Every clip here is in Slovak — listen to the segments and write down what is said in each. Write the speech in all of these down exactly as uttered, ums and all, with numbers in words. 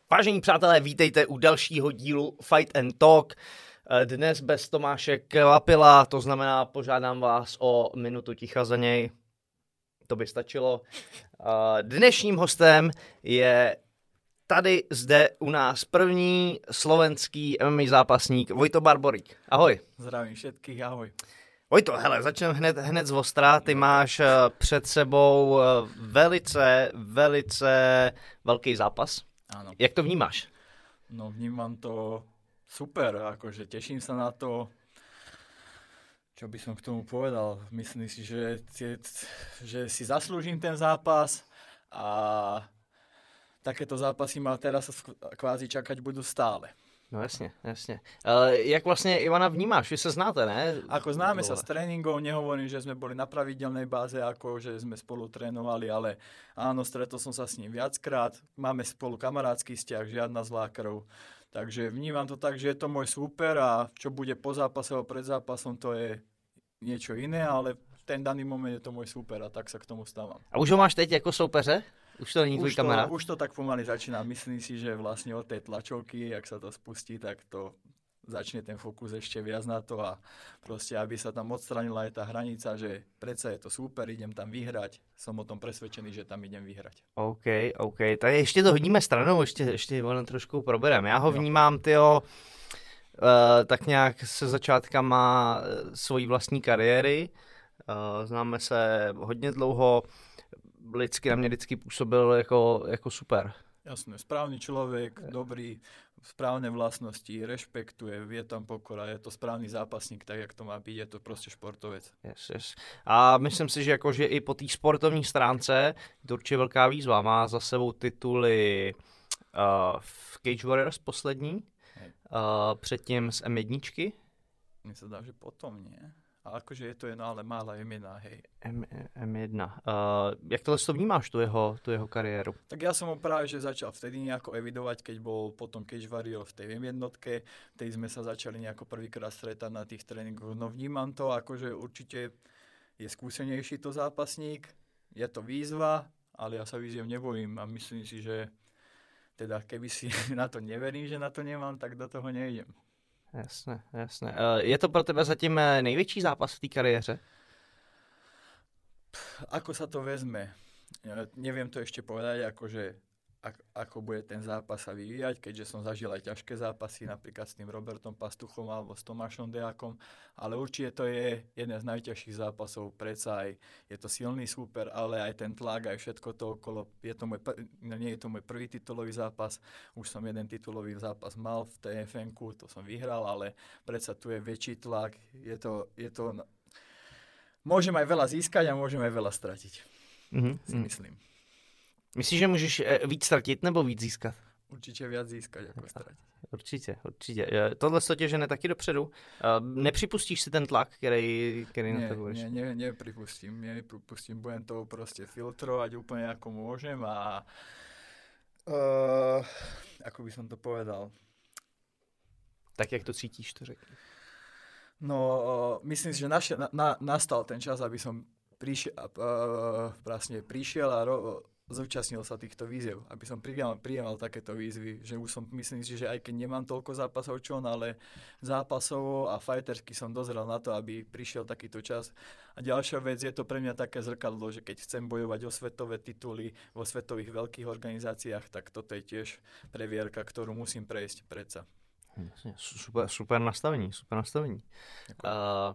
Vážení přátelé, vítejte u dalšího dílu Fight and Talk. Dnes bez Tomáše Kvapila, to znamená, požádám vás o minutu ticha za něj. To by stačilo. Dnešním hostem je tady zde u nás první slovenský M M A zápasník Vojto Barborík. Ahoj. Zdravím všetkých, ahoj. Vojto, hele, začneme hned, hned z ostra. Ty máš před sebou velice, velice velký zápas. Áno. Jak to vnímáš? No vnímam to super, akože teším sa na to. Čo by som k tomu povedal? Myslím si, že, že si zaslúžim ten zápas a takéto zápasy ma teraz kvázi čakať budú stále. No jasně, jasně. Uh, jak vlastně Ivana vnímáš? Vy se znáte, ne? Ako známe sa z tréningov, nehovorím, že sme boli na pravidelnej báze, ako že sme spolu trénovali, ale áno, stretol som sa s ním viackrát, máme spolu kamarátsky vzťah, žiadna zlá krv. Takže vnímam to tak, že je to môj súper a čo bude po zápase alebo pred zápasom, to je niečo iné, ale v ten daný moment je to môj súper a tak sa k tomu stávam. A už ho máš teď jako soupeře? Už to není tvůj kamarád? Už to tak pomaly začína. Myslím si, že vlastne od tej tlačovky, jak sa to spustí, tak to začne ten fokus ešte viac na to a proste, aby sa tam odstranila aj tá hranica, že predsa je to super, idem tam vyhrať. Som o tom presvedčený, že tam idem vyhrať. OK, OK. Tak ještě to hodíme stranou, ještě, ještě ono trošku probereme. Já ho vnímám, tyjo, uh, tak nějak se začátkama svojí vlastní kariéry. Uh, známe se hodně dlouho. Lidsky na mě vždycky působil jako, jako super. Jasné, správny človek, dobrý, správne vlastnosti, rešpektuje, vie tam pokora, je to správny zápasník, tak jak to má byť, je to proste športovec. Yes, yes. A myslím si, že, jako, že i po té sportovní stránce je to určitě velká výzva. Má za sebou tituly uh, v Cage Warriors poslední, uh, předtím z em jedna. Mně se dá, že potom, nie? A akože je to jedno, ale mála em jedna, hej. M, em jedna. Uh, jak tohle to vnímáš, tu jeho, tu jeho kariéru? Tak ja som ho práve že začal vtedy nejako evidovať, keď bol potom Cage Warrior v tej em jednotke, vtedy sme sa začali nejako prvýkrát stretať na tých tréningoch. No vnímam to, akože určite je skúsenejší to zápasník, je to výzva, ale ja sa výziev nebojím a myslím si, že teda keby si na to neverím, že na to nemám, tak do toho nejdem. Jasné, jasné. Je to pro tebe zatím největší zápas v té kariéře? Ako sa to vezme? Ja neviem to ešte povedať, akože, ako bude ten zápas sa vyvíjať, keďže som zažil aj ťažké zápasy, napríklad s tým Robertom Pastuchom alebo s Tomášom Dejakom, ale určite to je jeden z najťažších zápasov, predsa aj je to silný súper, ale aj ten tlak, aj všetko to okolo. Je to môj, nie je to môj prvý titulový zápas, už som jeden titulový zápas mal v té ef enku, to som vyhral, ale predsa tu je väčší tlak, je to, je to môžem aj veľa získať a môžem aj veľa stratiť, mm-hmm. si myslím. Myslíš, že můžeš víc ztratit nebo víc získat? Určitě víc získat jako ztratit. Určitě, určitě. Tohle se tě žene taky dopředu. Nepřipustíš si ten tlak, který, který ne, na to budeš? Ne, ne, nepripustím. Nepripustím. Budem to prostě filtrovať úplně jako môžem a uh, ako by som to povedal? Tak, jak to cítíš, to řekni. No, uh, myslím si, že naše, na, na, nastal ten čas, aby som prišiel, uh, vlastne prišiel a ro, zúčastnil sa týchto výziev, aby som prijímal takéto výzvy, že už som, myslím si, že aj keď nemám toľko zápasov čo on, ale zápasovo a fightersky som dozrel na to, aby prišiel takýto čas. A ďalšia vec, je to pre mňa také zrkadlo, že keď chcem bojovať o svetové tituly vo svetových veľkých organizáciách, tak toto je tiež previerka, ktorú musím prejsť predsa. Super, super nastavení, super nastavení. Uh,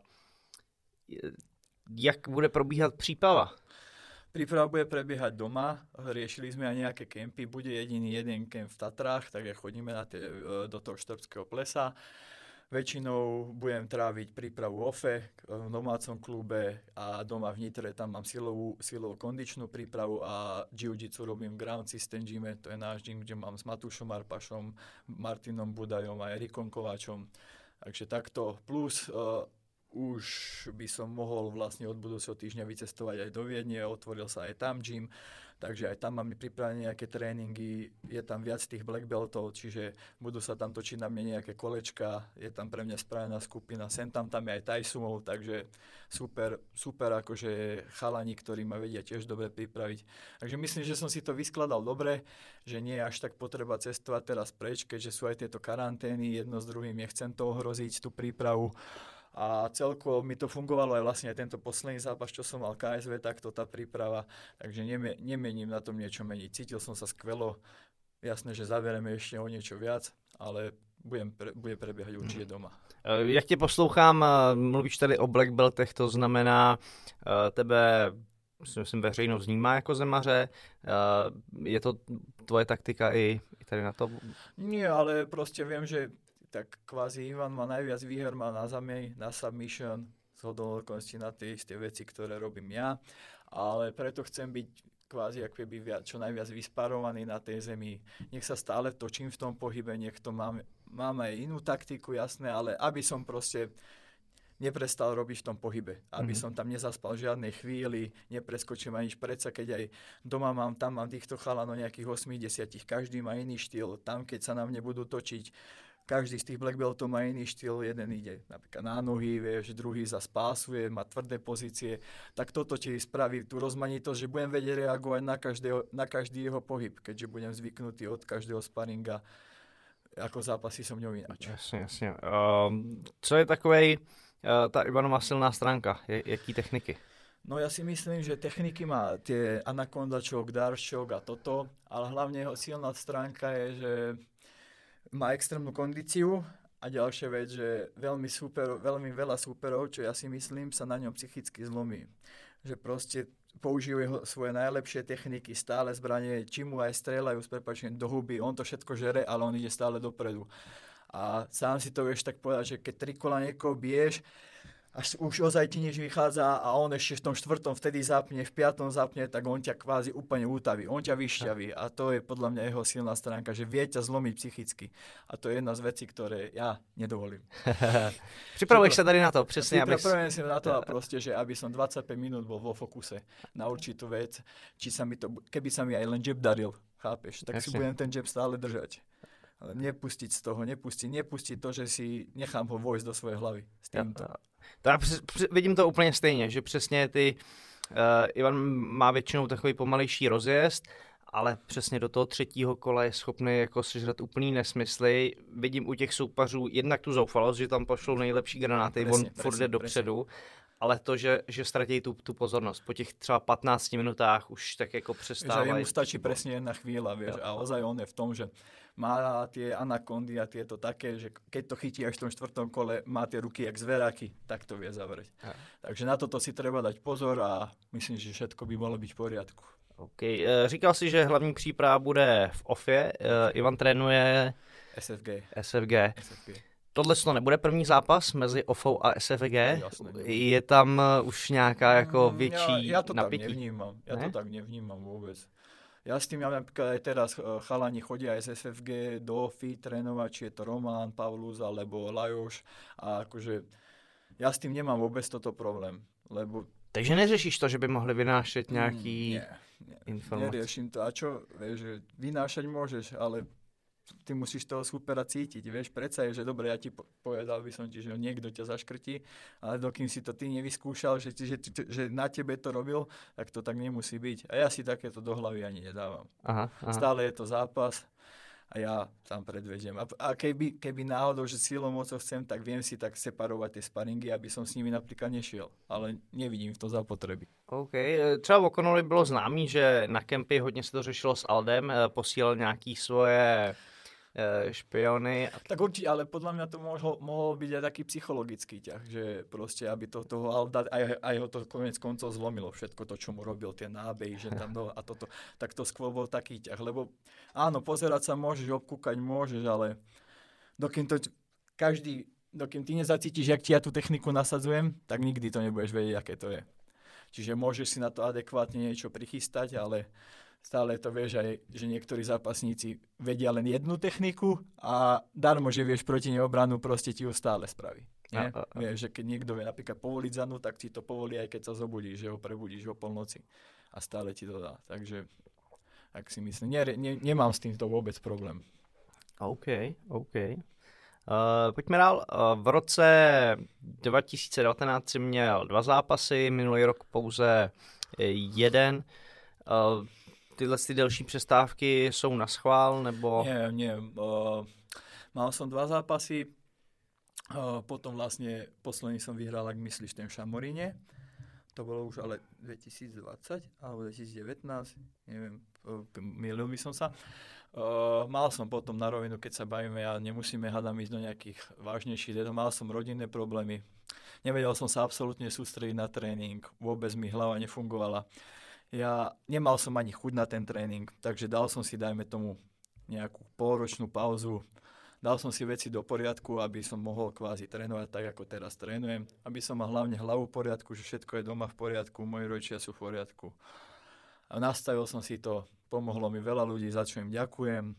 jak bude probíhat příprava? Príprava bude prebiehať doma, riešili sme aj nejaké kempy, bude jediný jeden kemp v Tatrách, tak ja chodíme na tie, do toho Štrbského plesa. Väčšinou budem tráviť prípravu ofe v domácom klube a doma v Nitre, tam mám silovú, silovú kondičnú prípravu a jiu-jitsu robím v Ground System gyme, to je náš gym, kde mám s Matúšom Arpašom, Martinom Budajom a Erikom Kováčom. Takže takto, plus uh, už by som mohol vlastne od budúceho týždňa vycestovať aj do Viedne, otvoril sa aj tam gym, takže aj tam máme pripravené nejaké tréningy, je tam viac tých black beltov, čiže budú sa tam točiť na mne nejaké kolečka, je tam pre mňa spravená skupina, sem tam tam je aj Tajsumov, takže super, super akože chalani, ktorí ma vedia tiež dobre pripraviť. Takže myslím, že som si to vyskladal dobre, že nie je až tak potreba cestovať teraz preč, keďže sú aj tieto karantény, jedno s druhým, nechcem to ohroziť, tú prípravu. A celkovo mi to fungovalo aj vlastne aj tento posledný zápas, čo som mal ká es vé, takto tá príprava, takže neme, nemením na tom niečo meniť. Cítil som sa skvelo, jasné, že zaberieme ešte o niečo viac, ale budem pre, bude prebiehať určite doma. Jak tě poslouchám, mluvíš tady o black beltech, to znamená, tebe myslím, veřejnost vnímá jako zemaře, je to tvoje taktika i, i tady na to? Nie, ale proste viem, že tak kvázi Ivan má najviac výher, má na zemi, na submission, zhodou okolností na tie isté veci, ktoré robím ja, ale preto chcem byť kvázi ako keby viac, čo najviac vysparovaný na tej zemi. Nech sa stále točím v tom pohybe, nech to mám, mám aj inú taktiku, jasné, ale aby som proste neprestal robiť v tom pohybe. Aby mm-hmm. som tam nezaspal v žiadnej chvíli, nepreskočím ani predsa, keď aj doma mám, tam mám týchto chalanov nejakých osemdesiat, každý má iný štýl, tam keď sa na mne budú točiť, každý z tých black beltov má iný štýl, jeden ide napríklad na nohy, vieš, druhý zas pásuje, má tvrdé pozície, tak toto ti spraví tú rozmanitosť, že budem vedieť reagovať na, každého, na každý jeho pohyb, keďže budem zvyknutý od každého sparinga, ako zápasy som ňou ináč. Jasně, jasně. Um, co je takovej uh, ta Ivanova silná stránka? Je, jaký techniky? No ja si myslím, že techniky má tie anaconda choke, dart choke a toto, ale hlavne jeho silná stránka je, že má extrémnu kondíciu a ďalšia vec, že veľmi, super, veľmi veľa súperov, čo ja si myslím, sa na ňom psychicky zlomí. Že proste používajú svoje najlepšie techniky, stále zbranie, či mu aj strieľajú s prepáčením do huby, on to všetko žere, ale on ide stále dopredu. A sám si to vieš tak povedať, že keď tri kola niekoho biješ, až už ozaj ti nič vychádza a on ešte v tom štvrtom vtedy zapne, v piatom zapne, tak on ťa kvázi úplne útaví, on ťa vyšťaví a to je podľa mňa jeho silná stránka, že vie ťa zlomiť psychicky a to je jedna z vecí, ktoré ja nedovolím. Připravuješ sa tady na to, přesně. Pripravujem si na to a proste, že aby som dvadsaťpäť minút bol vo fokuse na určitú vec, či sa mi to, keby sa mi aj len jab daril, chápeš, tak Jasne. Si budem ten jab stále držať. Ale nepustiť z toho, nepustiť, nepustiť to, že si nechám ho vojsť do svojej hlavy s týmto. Ja, to já vidím to úplně stejně, že přesně ty, uh, Ivan má většinou takový pomalejší rozjezd, ale přesně do toho třetího kola je schopný jako sežrat úplný nesmysly. Vidím u těch soupařů jednak tu zoufalost, že tam pošlou nejlepší granáty, presne, on presne, furt jde dopředu, ale to, že, že ztratí tu, tu pozornost. Po těch třeba patnácti minutách už tak jako přestávají. Že jemu stačí presne jedna chvíľa, vieš, a ozaj on je v tom, že má tie anakondy a tieto také, že keď to chytí až v tom štvrtom kole, má tie ruky jak zveráky, tak to vie zavrieť. Ja. Takže na toto si treba dať pozor a myslím, že všetko by malo byť v poriadku. OK. Říkal si, že hlavní příprava bude v ofie. Ivan trénuje es ef gé. es ef gé. es ef gé. Tohle to nebude první zápas mezi ofou a es ef gé? Jasne, je tam už nějaká jako větší ja, ja to napětí? tak nevnímam. Ja ne? to tak nevnímam vôbec. Ja s tým, ja napríklad aj teraz chalani chodia aj z es ef gé do ofy trénovať, či je to Roman, Pavlus alebo Lajoš a akože ja s tým nemám vôbec toto problém, lebo... Takže neřešíš to, že by mohli vynášať nejaký nie, nie, informace? Neriešim to. A čo, vieš, že vynášať môžeš, ale ty musíš toho supera cítiť, vieš, predsa je, že dobre, ja ti povedal by som ti, že niekto ťa zaškrtí, ale dokým si to ty nevyskúšal, že, že, že na tebe to robil, tak to tak nemusí byť. A ja si takéto do hlavy ani nedávam. Aha, aha. Stále je to zápas a ja tam predvediem. A, a keby, keby náhodou, že silou mocou chcem, tak viem si tak separovať tie sparingy, aby som s nimi napríklad nešiel. Ale nevidím v to zapotreby. OK. Třeba v O'Connellovi bylo známý, že na kempy hodně se to řešilo s Aldem, posílal nějaký svoje špiony. Tak určite, ale podľa mňa to mohol, mohol byť aj taký psychologický ťah, že proste, aby to toho Alda, aj, aj ho to konec koncov zlomilo všetko to, čo mu robil, tie nábehy, že tam do, a toto, tak to skôr bol taký ťah, lebo áno, pozerať sa môžeš, obkúkať môžeš, ale dokým to každý, dokým ty nezacítiš, jak ti ja tú techniku nasadzujem, tak nikdy to nebudeš vedieť, aké to je. Čiže môžeš si na to adekvátne niečo prichystať, ale stále to vieš aj, že niektorí zápasníci vedia len jednu techniku a darmo, že vieš proti neobranu, proste ti ju stále spraví. Nie? A, a, a. Vieš, že keď niekto vie napríklad povoliť zanu, tak ti to povolí aj keď sa zobudíš, že ho prebudíš o polnoci a stále ti to dá. Takže tak si myslím, ne, ne, nemám s týmto vůbec problém. OK, OK. Uh, pojďme dál. Uh, v roce dva tisíce devatenáct si měl dva zápasy, minulý rok pouze jeden. Uh, tyhle ty delší přestávky jsou na schvál, nebo... Nie, nie. Uh, mal som dva zápasy, uh, potom vlastne posledný som vyhral, ak myslíš, ten v Šamoríne. To bolo už ale dvetisícdvadsať alebo dvetisícdevätnásť, neviem, uh, mýlil by som sa. Uh, mal som potom na rovinu, keď sa bavíme a nemusíme hádam ísť do nejakých vážnejších detov, mal som rodinné problémy. Nevedel som sa absolútne sústrediť na tréning, vôbec mi hlava nefungovala. Ja nemal som ani chuť na ten tréning, takže dal som si, dajme tomu, nejakú polročnú pauzu. Dal som si veci do poriadku, aby som mohol kvázi trénovať tak, ako teraz trénujem. Aby som mal hlavne hlavu v poriadku, že všetko je doma v poriadku, moji rodičia sú v poriadku. A nastavil som si to, pomohlo mi veľa ľudí, za čo im ďakujem.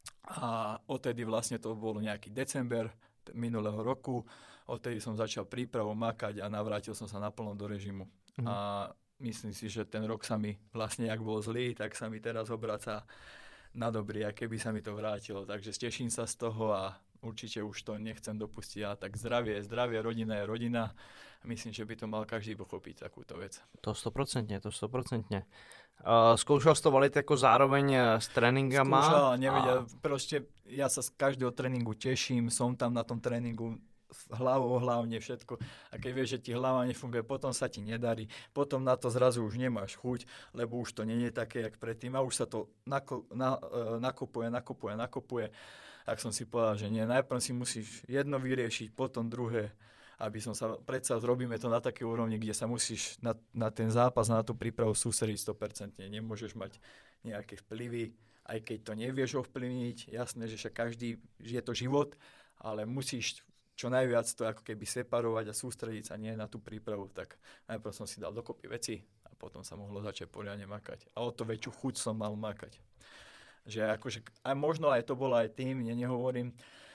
A odtedy vlastne to bolo nejaký december minulého roku. Odtedy som začal prípravu makať a navrátil som sa naplno do režimu. Mhm. A myslím si, že ten rok sa mi vlastne, jak bol zlý, tak sa mi teraz obraca na dobrý, a keby sa mi to vrátilo. Takže teším sa z toho a určite už to nechcem dopustiť. A tak zdravie je zdravie, rodina je rodina. Myslím, že by to mal každý pochopiť, takúto vec. To stoprocentně, to stoprocentně. Uh, zkoušel jsi to valit jako zároveň s tréninkama? Skúšal, nevedel. A... Proste ja sa z každého tréningu teším, som tam na tom tréningu hlavou hlavne všetko. A keď vieš, že ti hlava nefunguje, potom sa ti nedarí. Potom na to zrazu už nemáš chuť, lebo už to nie je také, jak predtým. A už sa to nako, na, nakopuje, nakopuje, nakopuje. Tak som si povedal, že nie. Najprv si musíš jedno vyriešiť, potom druhé. Aby som sa, predsa robíme to na takej úrovni, kde sa musíš na, na ten zápas, na tú prípravu sústrediť sto percent. Nemôžeš mať nejaké vplyvy, aj keď to nevieš ovplyvniť. Jasné, že však každý, že je to život, ale musíš čo najviac to ako keby separovať a sústrediť sa nie na tú prípravu, tak najprv som si dal dokopy veci a potom sa mohlo začať poriadne makať. A o to väčšiu chuť som mal makať. Že akože, a možno aj to bolo aj tým, ne, nehovorím,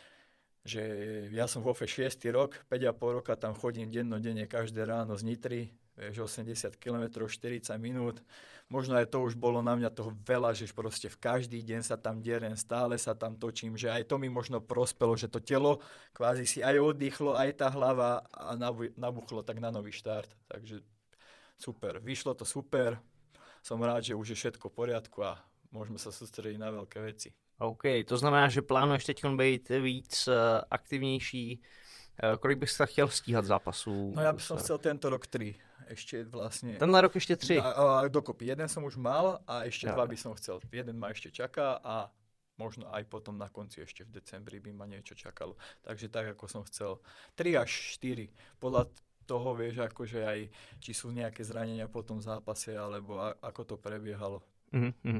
že ja som vo vé šiesty rok, päť a pol roka tam chodím dennodenne každé ráno z Nitry, vieš, osemdesiat kilometrov, štyridsať minút. Možno aj to už bolo na mňa toho veľa, že proste v každý deň sa tam derem, stále sa tam točím, že aj to mi možno prospelo, že to telo kvázi si aj oddychlo, aj tá hlava a nabuchlo tak na nový štart. Takže super, vyšlo to super. Som rád, že už je všetko v poriadku a môžeme sa sústrediť na veľké veci. OK, to znamená, že plánuješ teď být víc uh, aktivnější. Uh, kolik bys sa chtěl stíhat zápasů? No ja by som chcel tento rok tri. Ešte vlastne... Tenhle rok ešte tri? A, a, dokopy. Jeden som už mal a ešte ja. dva by som chcel. Jeden ma ešte čaká a možno aj potom na konci ešte v decembri by ma niečo čakalo. Takže tak, ako som chcel. tri až štyri. Podľa toho vieš, akože aj či sú nejaké zranenia po tom zápase, alebo a, ako to prebiehalo. Mm-hmm.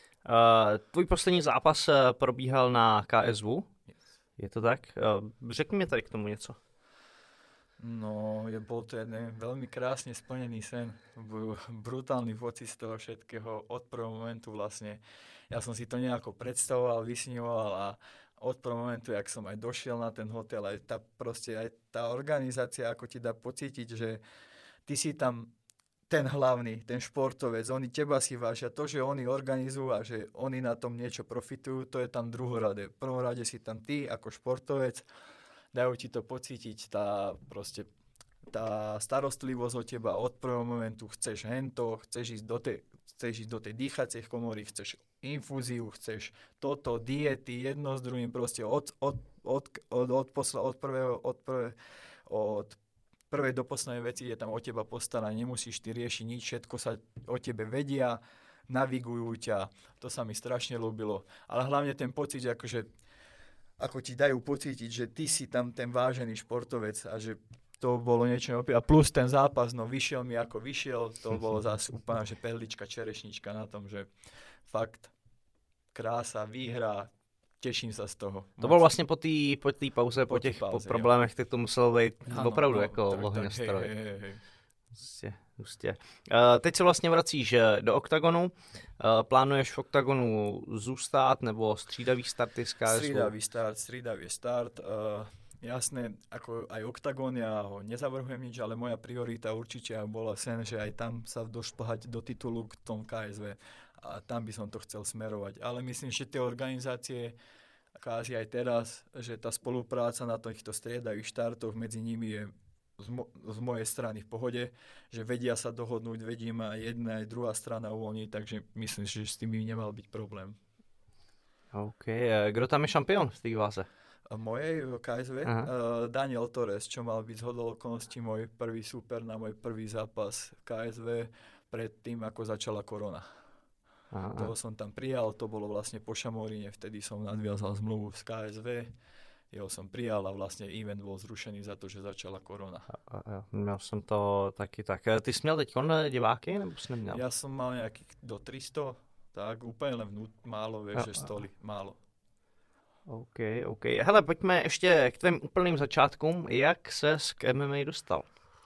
Uh, tvůj poslední zápas probíhal na ká es vé? Yes. Je to tak? Uh, řekni mi tady k tomu něco. No, je, bol to jeden veľmi krásne splnený sen. Brutálny pocit z toho všetkého od prvého momentu vlastne. Ja som si to nejako predstavoval, vysníval a od prvého momentu, jak som aj došiel na ten hotel, aj tá, proste, aj tá organizácia, ako ti dá pocítiť, že ty si tam ten hlavný, ten športovec, oni teba si vážia. To, že oni organizujú a že oni na tom niečo profitujú, to je tam druhoradé. V prvom rade si tam ty ako športovec, dajú ti to pocítiť, tá proste tá starostlivosť o teba od prvého momentu, chceš hento, chceš ísť do tej, chceš ísť do tej dýchacej komory, chceš infúziu, chceš toto, diety, jedno s druhým, proste od, od, od, od, od, posla, od prvého, od prvé, od prvej do poslednej veci je tam o teba postarané, nemusíš ty riešiť nič, všetko sa o tebe vedia, navigujú ťa, to sa mi strašne ľúbilo, ale hlavne ten pocit, že akože ako ti dajú pocítiť, že ty si tam ten vážený športovec a že to bolo niečo opäť. A plus ten zápas, no vyšiel mi ako vyšiel, to bolo zase úplne, že perlička, čerešnička na tom, že fakt krása, výhra, teším sa z toho. To bolo vlastne po té po té pauze, po, po těch pauze, po problémech, tak to muselo být ano, opravdu no, jako ohňostroj. Hej, hej, hej. Hustě, hustě. Uh, teď se vlastně vracíš do oktagonu. Uh, plánuješ v oktagonu zůstat nebo střídavý starty z ká es vé? Střídavý start, střídavý start. Uh, jasné, ako aj oktagon, ja ho nezavrhujem nič, ale moja priorita určite bola sen, že aj tam sa došplhať do titulu k tom ká es vé. a tam by som to chcel smerovať. Ale myslím, že tie organizácie, kvázi aj teraz, že tá spolupráca na týchto striedavých štartoch medzi nimi je z, mo- z mojej strany v pohode, že vedia sa dohodnúť, vedí ma jedna aj druhá strana uvoľniť, takže myslím, že s tým by nemal byť problém. OK. Kdo tam je šampión v té váze? Mojej ká es vé? Uh, Daniel Torres, čo mal byť zhodou okolností môj prvý súper na môj prvý zápas v ká es vé pred tým, ako začala korona. Aha. Toho som tam prijal, to bolo vlastne po Šamoríne, vtedy som nadviazal zmluvu z ká es vé, jeho som prijal a vlastne event bol zrušený za to, že začala korona. A, a, a, měl jsem to taky tak. Ty jsi měl teď diváky, nebo jsi neměl? Ja som mal nejakých do tristo, tak úplně len vnút, málo, vieš, že stoly, málo. OK, OK. Hele, pojďme ještě k tvým úplným začátkům. Jak ses k em em á dostal?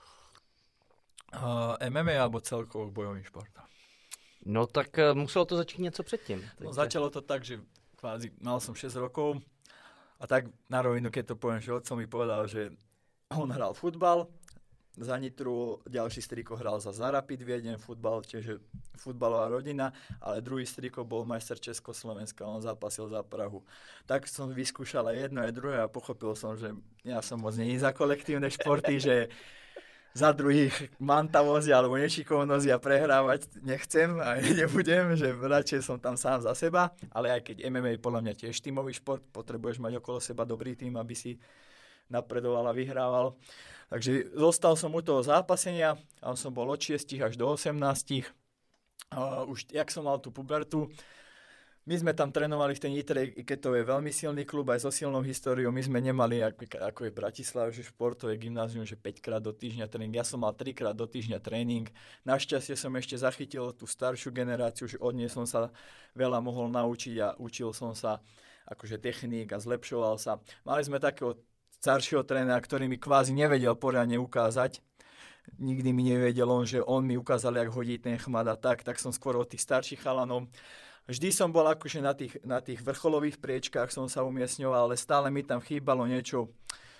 Uh, em em á alebo celkovo k bojovým športom? No tak uh, muselo to začít něco předtím. Takže... No, začalo to tak, že kvázi mal som šesť rokov a tak na rovinu, keď to poviem, že otco mi povedal, že on hral futbal, za Nitru, ďalší strýko hral za Rapid Viedeň, futbal, čiže futbalová rodina, ale druhý strýko bol majster Československa, on zápasil za Prahu. Tak som vyskúšal aj jedno, aj druhé a pochopil som, že ja som moc není za kolektívne športy, že za druhých mantavosť alebo nešikovnosť ja prehrávať nechcem a nebudem, že radšej som tam sám za seba, ale aj keď em em á je podľa mňa tiež tímový šport, potrebuješ mať okolo seba dobrý tím, aby si napredoval a vyhrával. Takže zostal som u toho zápasenia, tam som bol od šiestich až do osemnástich. Uh, už jak som mal tú pubertu, my sme tam trénovali v tej Nitre, i keď to je veľmi silný klub aj so silnou históriou, my sme nemali, ako, ako je Bratislava, že športové gymnázium, že päťkrát do týždňa tréning. Ja som mal trikrát do týždňa tréning. Našťastie som ešte zachytil tú staršiu generáciu, že od nej som sa veľa mohol naučiť a učil som sa akože techník a zlepšoval sa. Mali sme takého staršieho trénera, ktorý mi kvázi nevedel poriadne ukázať. Nikdy mi nevedel on, že on mi ukázal, jak hodí ten chmat a tak, tak som skôr od tých starších chalanov. Vždy som bol akože na tých, na tých vrcholových priečkách som sa umiestňoval, ale stále mi tam chýbalo niečo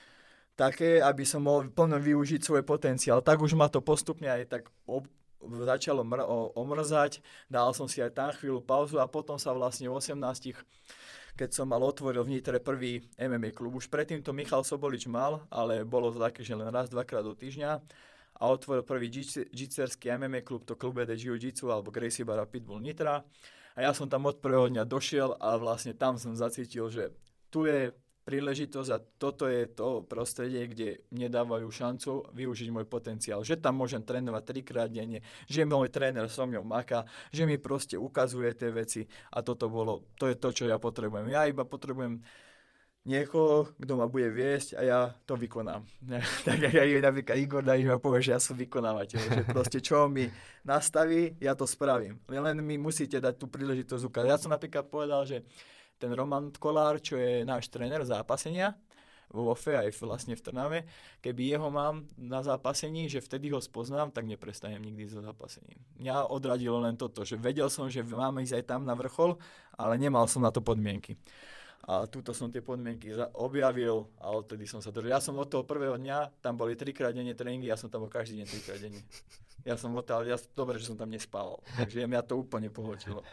také, aby som mohol plno využiť svoj potenciál. Tak už ma to postupne aj tak ob, začalo mr- omrzať, dal som si aj tam chvíľu pauzu a potom sa vlastne v osemnástich, keď som mal otvoril v Nitre prvý em em á klub. Už predtým to Michal Sobolič mal, ale bolo to také, že len raz, dvakrát do týždňa. A otvoril prvý džitserský em em á klub, to Klube de Jiu-Jitsu alebo Gracie Barra Pitbull Nitra. A ja som tam od prvého dňa došiel a vlastne tam som zacítil, že tu je príležitosť a toto je to prostredie, kde mne dávajú šancu využiť môj potenciál. Že tam môžem trénovať trikrát denne, že môj tréner so mňou maká, že mi proste ukazuje tie veci a toto bolo, to je to, čo ja potrebujem. Ja iba potrebujem niekoho, kto ma bude viesť a ja to vykonám. Tak jak aj napríklad Igor Dajiš ma povie, že ja som vykonávateľ, že proste čo mi nastaví, ja to spravím. Len mi musíte dať tú príležitosť ukázať. Ja som napríklad povedal, že ten Roman Kolár, čo je náš tréner zápasenia vo Ofe aj vlastne v Trnave, keby jeho mám na zápasení, že vtedy ho spoznám, tak neprestanem nikdy so zápasením. Mňa odradilo len toto, že vedel som, že máme ísť aj tam na vrchol, ale nemal som na to podmienky. A túto som tie podmienky objavil a odtedy som sa držal. Ja som od toho prvého dňa, tam boli trikrát denne tréningy, ja som tam bol každý deň trikrát denne. Ja som odtiaľ, ja, dobre, že som tam nespával, takže mňa to úplne pohltilo.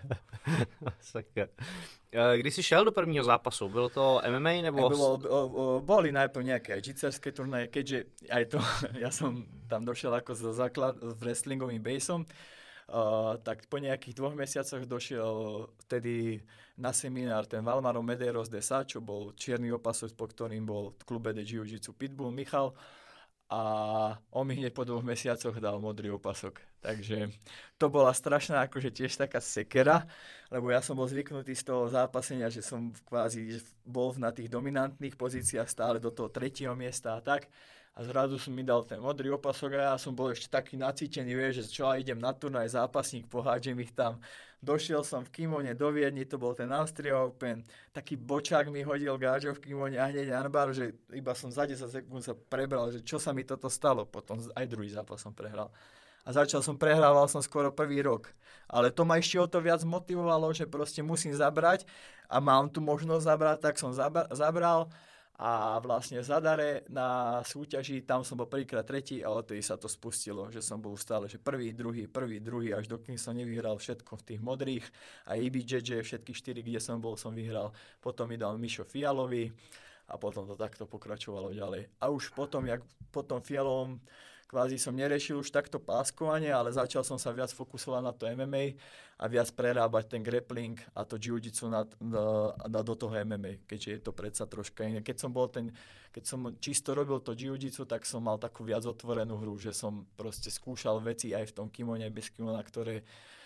Sakra. Když jsi šel do prvního zápasu, bylo to em em á nebo... Bylo, o, o, boli najprv nejaké aj džitserské turnaje, keďže aj to, ja som tam došiel ako za základ s wrestlingovým baseom, Uh, tak po nejakých dvoch mesiacoch došiel vtedy na seminár ten Valmaro Medeiros de Sá, čo bol čierny opasok, po ktorým bol v klube de Jiu-Jitsu Pitbull Michal a on mi hneď po dvoch mesiacoch dal modrý opasok. Takže to bola strašná akože tiež taká sekera, lebo ja som bol zvyknutý z toho zápasenia, že som kvázi bol na tých dominantných pozíciách stále do toho tretieho miesta a tak. A zrazu som mi dal ten modrý opasok a ja som bol ešte taký nacítený, vieš, že čo, idem na turnaj, zápasník, pohádžem ich tam. Došiel som v kimone do Viedni, to bol ten Austria Open, taký bočák mi hodil gáčo v kimone a hneď Anbar, že iba som za desať sekúnd sa prebral, že čo sa mi toto stalo. Potom aj druhý zápas som prehral. A začal som, prehrával som skoro prvý rok. Ale to ma ešte o to viac motivovalo, že proste musím zabrať a mám tu možnosť zabrať, tak som zabral. A vlastne v Zadare na súťaži, tam som bol prvýkrát tretí a odtedy sa to spustilo, že som bol stále, že prvý, druhý, prvý, druhý, až dokým som nevyhral všetko v tých modrých a í bé jé jé, všetky štyri, kde som bol, som vyhral. Potom mi dal Mišo Fialový a potom to takto pokračovalo ďalej. A už potom, jak potom Fialovom, kvázi som neriešil už takto páskovanie, ale začal som sa viac fokusovať na to em em á a viac prerábať ten grappling a to jiu-jitsu na, na, na, do toho em em á, keďže je to predsa troška iné. Keď som bol ten, keď som čisto robil to jiu-jitsu, tak som mal takú viac otvorenú hru, že som proste skúšal veci aj v tom kimone, bez kimona, ktoré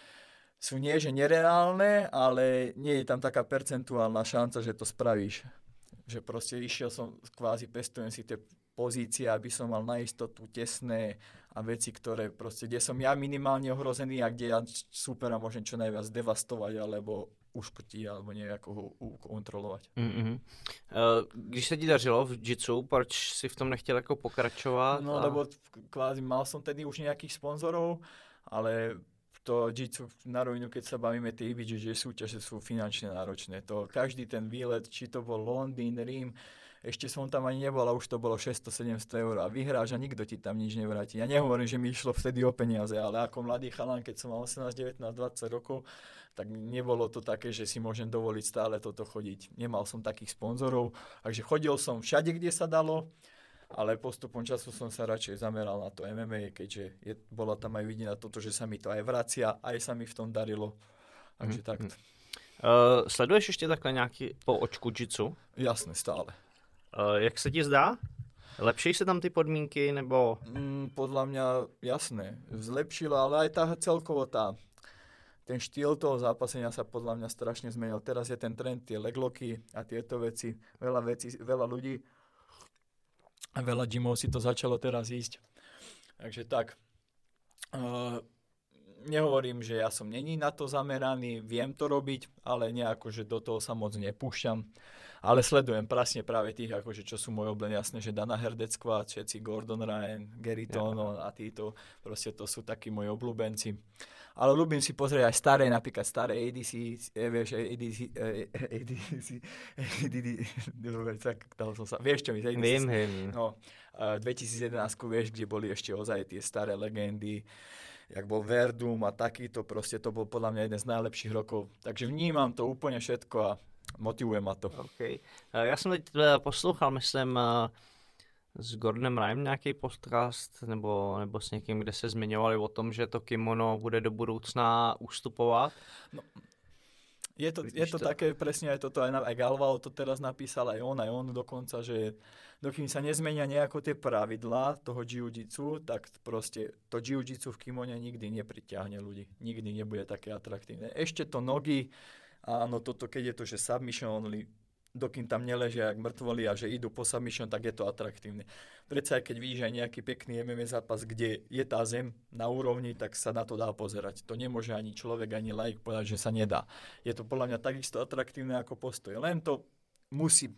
sú nie, že nereálne, ale nie je tam taká percentuálna šanca, že to spravíš. Že proste išiel som, kvázi pestujem si tie pozície, aby som mal na istotu tesné a veci, ktoré proste, kde som ja minimálne ohrozený a kde ja supera môžem čo najviac devastovať alebo uškrtiť alebo nejako ho kontrolovať. Mm-hmm. Uh, když se ti dařilo v jitsu, proč si v tom nechtěl jako pokračovat? No, a... lebo kvázi mal som tedy už nejakých sponzorov, ale to jitsu na rovinu, keď sa bavíme, tie í bé jé súťaže sú finančne náročné. To každý ten výlet, či to bol Londýn, Rím, ešte som tam ani nebol a už to bolo šesťsto sedemsto eur a vyhráš a nikto ti tam nič nevráti. Ja nehovorím, že mi išlo vtedy o peniaze, ale ako mladý chalan, keď som mal osemnásť, devätnásť, dvadsať rokov, tak nebolo to také, že si môžem dovoliť stále toto chodiť. Nemal som takých sponzorov, takže chodil som všade, kde sa dalo, ale postupom času som sa radšej zameral na to em em á, keďže je, bola tam aj vidieť na toto, že sa mi to aj vracia, aj sa mi v tom darilo. Takže mm, takto. Uh, sleduješ ještě takhle nějaký po očku jitsu? Jasné, stále. Uh, jak se ti zdá? Lepší se tam ty podmínky, nebo? Mm, podľa mňa, jasné, zlepšilo, ale aj tá celkovo tá, ten štýl toho zápasenia sa podľa mňa strašne zmenil. Teraz je ten trend, tie legloky a tieto veci, veľa vecí, veľa ľudí a veľa gymov si to začalo teraz ísť. Takže tak, uh, nehovorím, že ja som není na to zameraný, viem to robiť, ale nejako, že do toho sa moc nepúšťam. Ale sledujem presne práve tých, akože, čo sú moje obľúbené, jasné, že Dana Herdecková, všetci Gordon Ryan, Gary Tono ja. A títo, proste to sú takí moji obľúbenci. Ale ľúbim si pozrieť aj staré, napríklad staré á dé cé, vieš, á dé cé, á dé cé, tak dal som sa, vieš čo mi, á dé cé, viem, viem. No, dvetisíc jedenásť, vieš, kde boli ešte ozaj tie staré legendy, jak bol Verdum a takýto, proste to bol podľa mňa jeden z najlepších rokov. Takže vnímam to úplne všetko a motivuje ma to. Okay. Já jsem teď poslouchal, myslím, s Gordonem Ryanem nějaký podcast, nebo, nebo s někým, kde se zmiňovali o tom, že to kimono bude do budoucna ustupovat. No, je to, je to, to také, presne aj toto, aj, aj Galvao to teraz napísal, aj on, aj on dokonca, že dokým sa nezmenia nejako tie pravidlá toho jiu-jitsu, tak proste to jiu-jitsu v kimone nikdy nepriťahne ľudí. Nikdy nebude také atraktívne. Ešte to nogy, áno, toto, keď je to, že submission only, dokým tam neležia jak mŕtvoli a že idú po submission, tak je to atraktívne. Predsa aj keď vidíš aj nejaký pekný em em á zápas, kde je tá zem na úrovni, tak sa na to dá pozerať. To nemôže ani človek, ani laik povedať, že sa nedá. Je to podľa mňa takisto atraktívne ako postoj. Len to musí...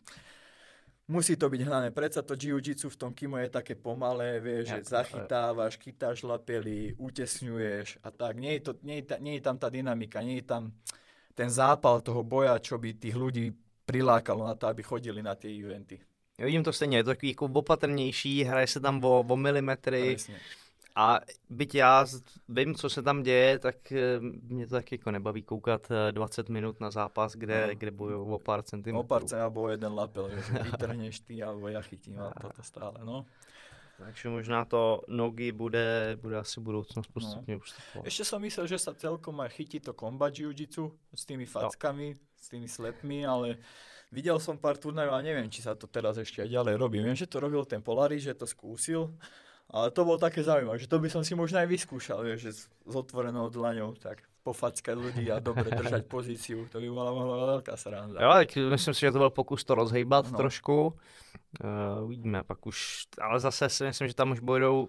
Musí to byť hnané. Predsa to jiu-jitsu v tom kimo je také pomalé, vieš, ja, že zachytávaš, chytáš lapely, utesňuješ a tak. Nie je, to, nie, je ta, nie je tam tá dynamika, nie je tam ten zápal toho boja, čo by tých ľudí prilákalo na to, aby chodili na tie eventy. Já vidím to stejně, je to takový jako opatrnější, hraje se tam o, o milimetry. Presne. A byť já vím, co se tam děje, tak mě to taky jako nebaví koukat dvacet minut na zápas, kde, no. kde bojují o pár centimetrů. O pár centimetrů, alebo jeden lapel, že vytrhneš ty, alebo ja chytím a toto stále, no. Takže možná to nogy bude, bude asi budoucnost postupně no. ustupovat. Ešte som myslel, že sa celkom aj chytí to combat jiu-jitsu s tými fackami, no. s tými slepmi, ale videl som pár turnajov a neviem, či sa to teraz ešte aj ďalej robí. Viem, že to robil ten Polaris, že to skúsil. Ale to bolo také zaujímavé, že to by som si možno aj vyskúšal, vieš, že s, s otvorenou dlaňou, tak pofackať ľudí a dobre držať pozíciu, to by bola mohla veľká sranda. Jo, tak myslím si, že to byl pokus to rozhejbat no. trošku, uh, uvidíme, pak už, ale zase si myslím, že tam už bojujou,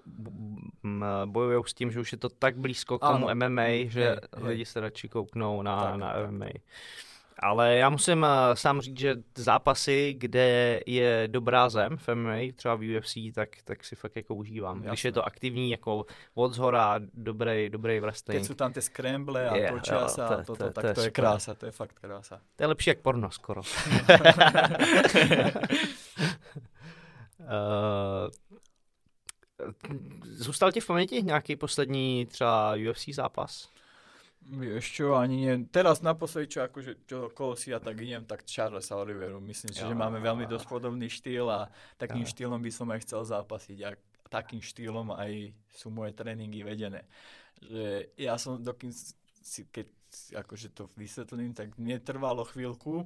bojujou s tím, že už je to tak blízko k tomu ano. em em á, že hej, lidi hej. se radši kouknou na, tak, na em em á. Ale já musím uh, sám říct, že zápasy, kde je dobrá zem v em em á, třeba v U F C, tak, tak si fakt jako užívám. Jasne. Když je to aktivní, jako od zhora, dobrý, dobrý wrestling. Keď sú tam tie scramble a yeah, točia sa, to, to, to, tak to, to je krása, to je fakt krása. To je lepší jak porno skoro. Uh, zůstal ti v paměti nějaký poslední třeba U F C zápas? Vieš čo, ani nie. Teraz naposledy, čo akože, čo okolo si ja tak idem, tak Charlesa Oliveru. Myslím si, že máme veľmi dosť podobný štýl a takým jo. štýlom by som aj chcel zápasiť. A takým štýlom aj sú moje tréningy vedené. Že ja som, dokým si, keď akože to vysvetlím, tak mne trvalo chvíľku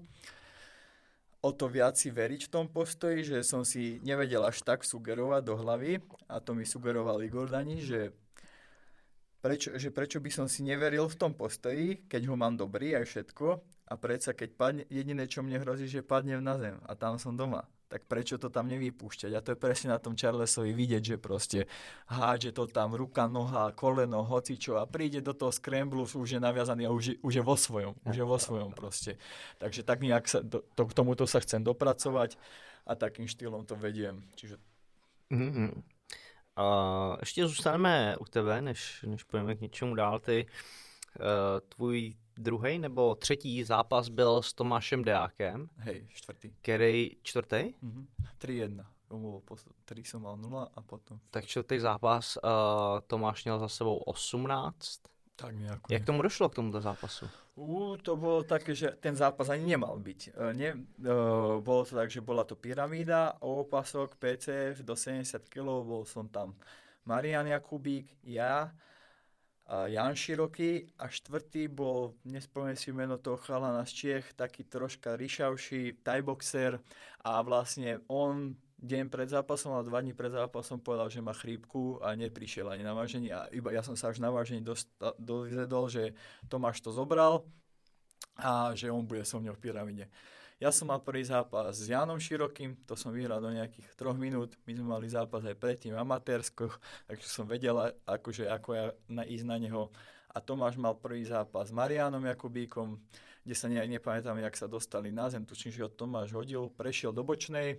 o to viac si veriť v tom postoji, že som si nevedel až tak sugerovať do hlavy a to mi sugeroval Igor Dani, že Prečo, že prečo by som si neveril v tom postoji, keď ho mám dobrý aj všetko a predsa keď padne, jediné čo mne hrozí, že padnem na zem a tam som doma. Tak prečo to tam nevypúšťať? A to je presne na tom Charlesovi vidieť, že proste hádže to tam ruka, noha, koleno, hocičo a príde do toho scramblu, už je naviazaný a už, už je vo svojom. Už je vo svojom proste. Takže tak nejak sa, do, to, k tomuto sa chcem dopracovať a takým štýlom to vediem. Čiže... Mm-hmm. Uh, ještě zůstaneme u tebe, než, než půjdeme k něčemu dál. Ty, uh, tvůj druhý nebo třetí zápas byl s Tomášem Deákem. Hej, čtvrtý. Který čtvrtý? Mm-hmm. tři jedna. Tři jsem mal nula a potom... Tak čtvrtý zápas uh, Tomáš měl za sebou osmnáct. Tak nejako. Jak tomu došlo k tomuto zápasu? Uh, to bolo také, že ten zápas ani nemal byť. Uh, ne, uh, bolo to tak, že bola to pyramída, opasok, pé cé ef do sedemdesiat kilogramov, bol som tam Marian Jakubík, ja, a Jan Široký a štvrtý bol, nespomeniem si meno toho chalana z Čiech, taký troška ryšavší, thaiboxer a vlastne on deň pred zápasom a dva dní pred zápasom povedal, že má chrípku a neprišiel ani na vážení a iba ja som sa až na vážení dosta, dozvedol, že Tomáš to zobral a že on bude so mňou v pyramíde. Ja som mal prvý zápas s Janom Širokým, to som vyhral do nejakých troch minút, my sme mali zápas aj predtým amatérsko, takže som vedel akože, ako ja na, ísť na neho. A Tomáš mal prvý zápas s Marianom Jakubíkom, kde sa ne, nepamätám, jak sa dostali na zem, tučím, že ho Tomáš hodil, prešiel do bočnej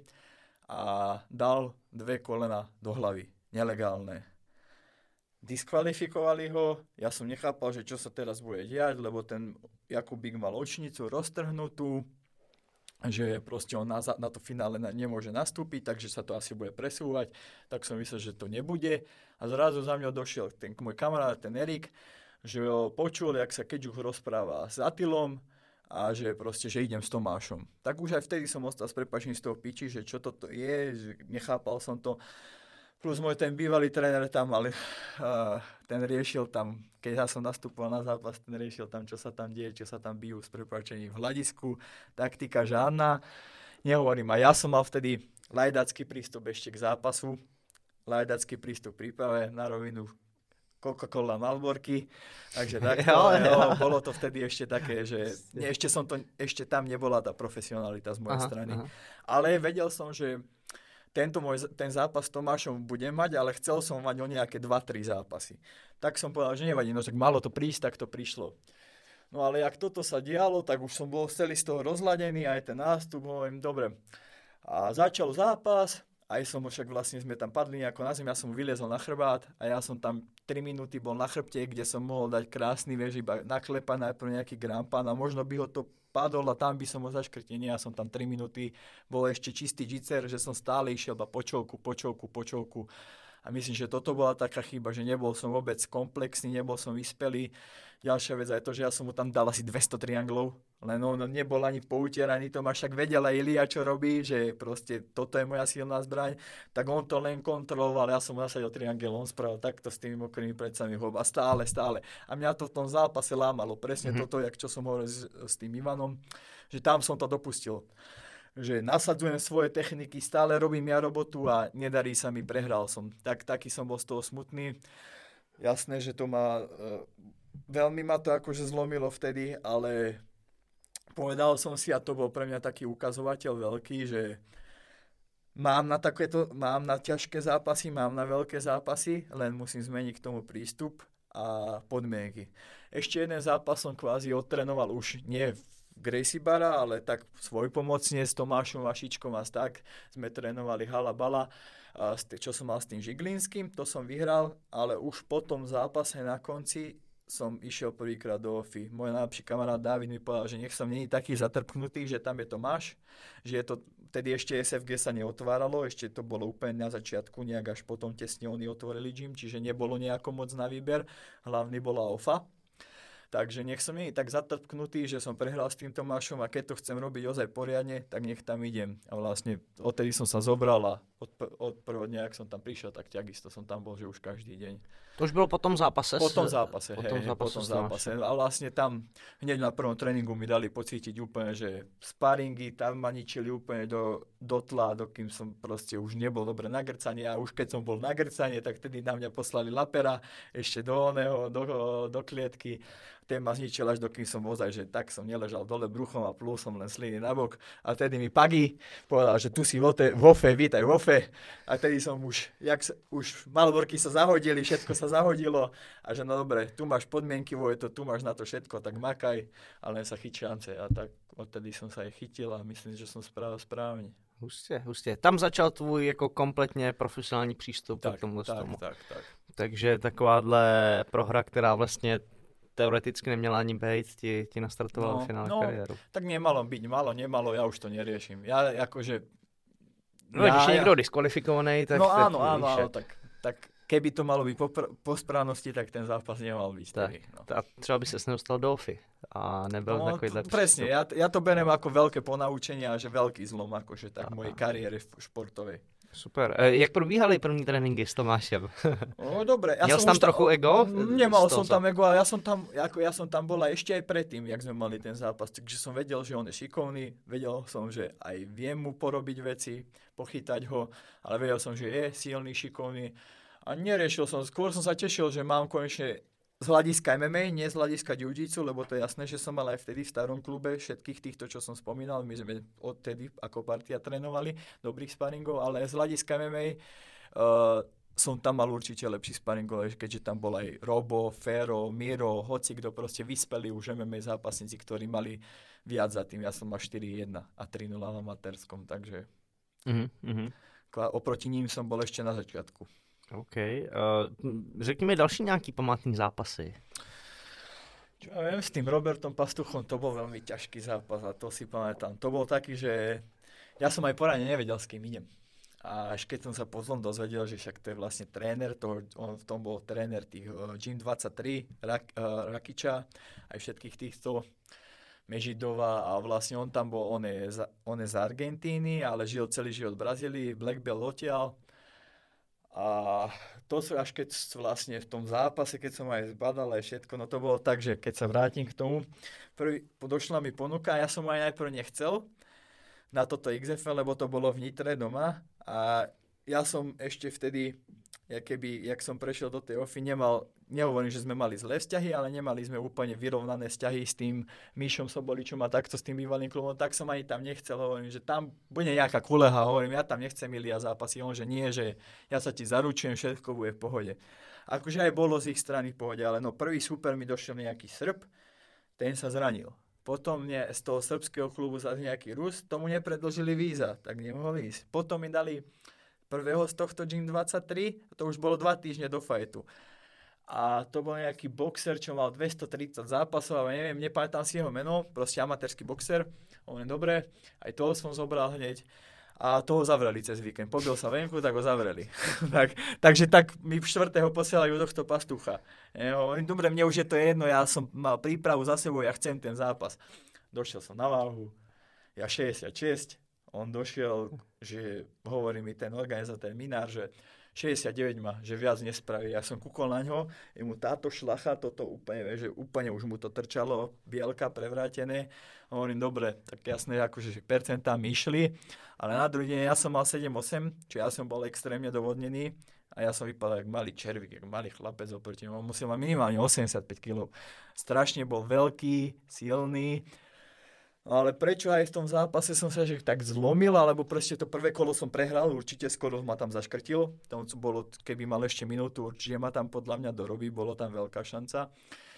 a dal dve kolena do hlavy, nelegálne. Diskvalifikovali ho, ja som nechápal, že čo sa teraz bude diať, lebo ten Jakubík mal očnicu roztrhnutú, že proste on na, na to finále nemôže nastúpiť, takže sa to asi bude presúvať, tak som myslel, že to nebude. A zrazu za mňa došiel ten môj kamarát, ten Erik, že ho počul, jak sa Keďuch rozpráva s Atilom, a že proste, že idem s Tomášom. Tak už aj vtedy som ostal s prepáčením z toho piči, že čo toto je, že nechápal som to. Plus môj ten bývalý tréner tam, ale uh, ten riešil tam, keď ja som nastupoval na zápas, ten riešil tam, čo sa tam deje, čo sa tam bijú s prepáčením v hľadisku. Taktika žádna. Nehovorím, a ja som mal vtedy lajdacký prístup ešte k zápasu, lajdacký prístup v príprave na rovinu Coca-Cola Malborky, takže takto, jo, jo, bolo to vtedy ešte také, že ne, ešte, som to, ešte tam nebola tá profesionalita z mojej aha, strany. Aha. Ale vedel som, že tento môj, ten zápas s Tomášom budem mať, ale chcel som mať o nejaké dva tri zápasy. Tak som povedal, že nevadí, no tak malo to prísť, tak to prišlo. No ale jak toto sa dialo, tak už som bol celý z toho rozladený, aj ten nástup, hovorím, dobre. A začal zápas, aj som však vlastne sme tam padli nejako na zem, ja som vyliezol na chrbát a ja som tam tri minúty bol na chrbte, kde som mohol dať krásny vieš, iba naklepať najprv nejaký grampan a možno by ho to padol a tam by som ho zaškrtil. Nie, ja som tam tri minúty, bol ešte čistý jiu-jitsu, že som stále išiel iba počovku, počovku, počovku. A myslím, že toto bola taká chyba, že nebol som vôbec komplexný, nebol som vyspelý. Ďalšia vec aj to, že ja som mu tam dal asi dvesto trianglov, len on nebol ani poutieraný, to ma však vedel aj Ilia, čo robí, že proste toto je moja silná zbraň, tak on to len kontroloval, ja som mu nasadil triangel, on spravil takto s tými mokrými predcami hob a stále, stále. A mňa to v tom zápase lámalo, presne mm-hmm. toto, jak čo som hovoril s, s tým Ivanom, že tam som to dopustil. Že nasadzujem svoje techniky, stále robím ja robotu a nedarí sa mi, prehral som. Tak, taký som bol z toho smutný. Jasné, že to ma, e, veľmi ma to akože zlomilo vtedy, ale povedal som si, a to bol pre mňa taký ukazovateľ veľký, že mám na takéto, mám na ťažké zápasy, mám na veľké zápasy, len musím zmeniť k tomu prístup a podmienky. Ešte jeden zápas som kvázi odtrenoval už nie v Gracie Bara, ale tak svojpomocne s Tomášom Vašičkom a tak sme trénovali hala bala, čo som mal s tým Žiglinským, to som vyhral, ale už po tom zápase na konci som išiel prvýkrát do Ofy. Môj najlepší kamarát Dávid mi povedal, že nech som není taký zatrpknutý, že tam je to máš, že je to, tedy ešte es ef gé sa neotváralo, ešte to bolo úplne na začiatku, nejak až potom tesne oni otvorili gym, čiže nebolo nejako moc na výber, hlavný bola Ofa. Takže nech som nie tak zatrpknutý, že som prehral s tým Tomášom a keď to chcem robiť ozaj poriadne, tak nech tam idem. A vlastne odtedy som sa zobral a od, od prvého dňa, ak som tam prišiel, tak takisto som tam bol, že už každý deň. To už bylo po tom zápase? Po tom zápase, po hej, tom hej, zápase, po tom zápase. A vlastne tam hneď na prvom tréningu mi dali pocítiť úplne, že sparingy tam ma ničili úplne do, do tla, dokým som proste už nebol dobre na grcanie a už keď som bol na grcanie, tak tedy na mňa poslali lapera ešte do oného, do, do klietky. Ten ma zničil až dokým som ozaj, že tak som neležal dole bruchom a plul som len sliny nabok. A tedy mi Pagi povedal, že tu si vo Ofe, vítaj v Ofe. A tedy som už, jak sa, už malborky sa zahodili, všetko sa zahodilo. A že no dobre, tu máš podmienky, Vojto, tu máš na to všetko, tak makaj, ale len sa chyť šance. A tak odtedy som sa aj chytil a myslím, že som spravil správne. Hustě, hustě. Tam začal tvůj jako kompletně profesionální přístup tak, k tomu. Tak, tomu. tak, tak. Takže takováhle prohra, která vlastně teoreticky neměla ani být, ti, ti nastartovala no, finále no, kariéru. Tak nemalo byť, malo, nemalo, ja už to neriešim. Ja akože... No, ja, když je niekto diskvalifikovaný, tak... No tak áno, áno, áno, tak, tak keby to malo byť po, pr- po správnosti, tak ten zápas nemal byť. Tak, tedy, no. A třeba by ses nedostal do Ofy a nebyl no, takovýhle t- Presne, ja, ja to berem ako veľké ponaučenie a že veľký zlom, akože tak v mojej kariére športovej. Super. E, jak probíhaly první tréninky s Tomášem? No dobre. Ja Měl som tam ta... trochu ego? Nemal som tam ego, ale ja som tam, ako ja som tam bola ešte aj predtým, jak sme mali ten zápas. Takže som vedel, že on je šikovný, vedel som, že aj viem mu porobiť veci, pochytať ho, ale vedel som, že je silný, šikovný. A neriešil som, skôr som sa tešil, že mám konečne z hľadiska em em á, nie z hľadiska jiu-jitsu, lebo to je jasné, že som mal aj vtedy v starom klube všetkých týchto, čo som spomínal, my sme odtedy ako partia trénovali dobrých sparingov, ale z hľadiska em em á uh, som tam mal určite lepší sparingov, keďže tam bol aj Robo, Fero, Miro, hoci kto proste vyspeli už em em á zápasníci, ktorí mali viac za tým. Ja som mal štyri jedna a tri nula v amatérskom, takže mm-hmm. oproti ním som bol ešte na začiatku. OK. Uh, řekni mi další nějaký památný zápasy. Čo ja viem, s tým Robertom Pastuchom to bol veľmi ťažký zápas a to si pamätám. To bol taký, že ja som aj poradne nevedel, s kým idem. A až keď som sa potom dozvedel, že však to je vlastne tréner, toho, on v tom bol tréner tých uh, Gym dvadsaťtri, Rak, uh, Rakiča, aj všetkých týchto Mežidova a vlastne on tam bol, on je, z, on je z Argentíny, ale žil celý život v Brazílii, Black Belt odtiaľ. A to sú až keď vlastne v tom zápase, keď som aj zbadal aj všetko, no to bolo tak, že keď sa vrátim k tomu, prvý, došla mi ponuka a ja som aj najprv nechcel na toto iks ef el, lebo to bolo v Nitre doma a ja som ešte vtedy, jak, keby, jak som prešiel do tej Ofy, nemal, nehovorím, že sme mali zlé vzťahy, ale nemali sme úplne vyrovnané vzťahy s tým Míšom Soboličom a takto s tým bývalým klubom, tak som ani tam nechcel, hovorím, že tam bude nejaká kuleha, hovorím, ja tam nechcem Ilia zápasy, on, že nie, že ja sa ti zaručujem, všetko bude v pohode. Akože aj bolo z ich strany v pohode, ale no prvý super mi došiel nejaký Srb, ten sa zranil. Potom mne z toho srbského klubu zase nejaký Rus, tomu nepredložili víza, tak nemohol ísť. Potom mi dali prvého z tohto Gym dvadsaťtri, to už bolo dva týždne do fajtu. A to bol nejaký boxer, čo mal dvestotridsať zápasov, ale neviem, nepamätám si jeho meno, proste amatérsky boxer. On je dobré, aj toho som zobral hneď. A toho zavreli cez víkend. Pobil sa venku, tak ho zavreli. tak, takže tak mi štvrtého posielajú do tohto Pastucha. Ja hovorím, dobre, mne už je to jedno, ja som mal prípravu za sebou, ja chcem ten zápas. Došiel som na váhu, ja šesťdesiatšesť, on došiel, že hovorí mi ten organizátor, Minár, že šesťdesiatdeväť má, že viac nespraví. Ja som kúkol na ňo, je mu táto šlacha, toto úplne, že úplne už mu to trčalo, bielka prevrátené. Hovorím, dobre, tak jasné, akože percentá mi išli, ale na druhý deň ja som mal sedem osem, čiže ja som bol extrémne dovodnený a ja som vypadal jak malý červík, jak malý chlapec oproti ňom. On musel mať minimálne osemdesiatpäť kilogramov. Strašne bol veľký, silný. Ale prečo aj v tom zápase som sa že tak zlomil, alebo proste to prvé kolo som prehral, určite skoro ma tam zaškrtil. Tam bolo, keby mal ešte minútu, určite ma tam podľa mňa dorobí, bolo tam veľká šanca.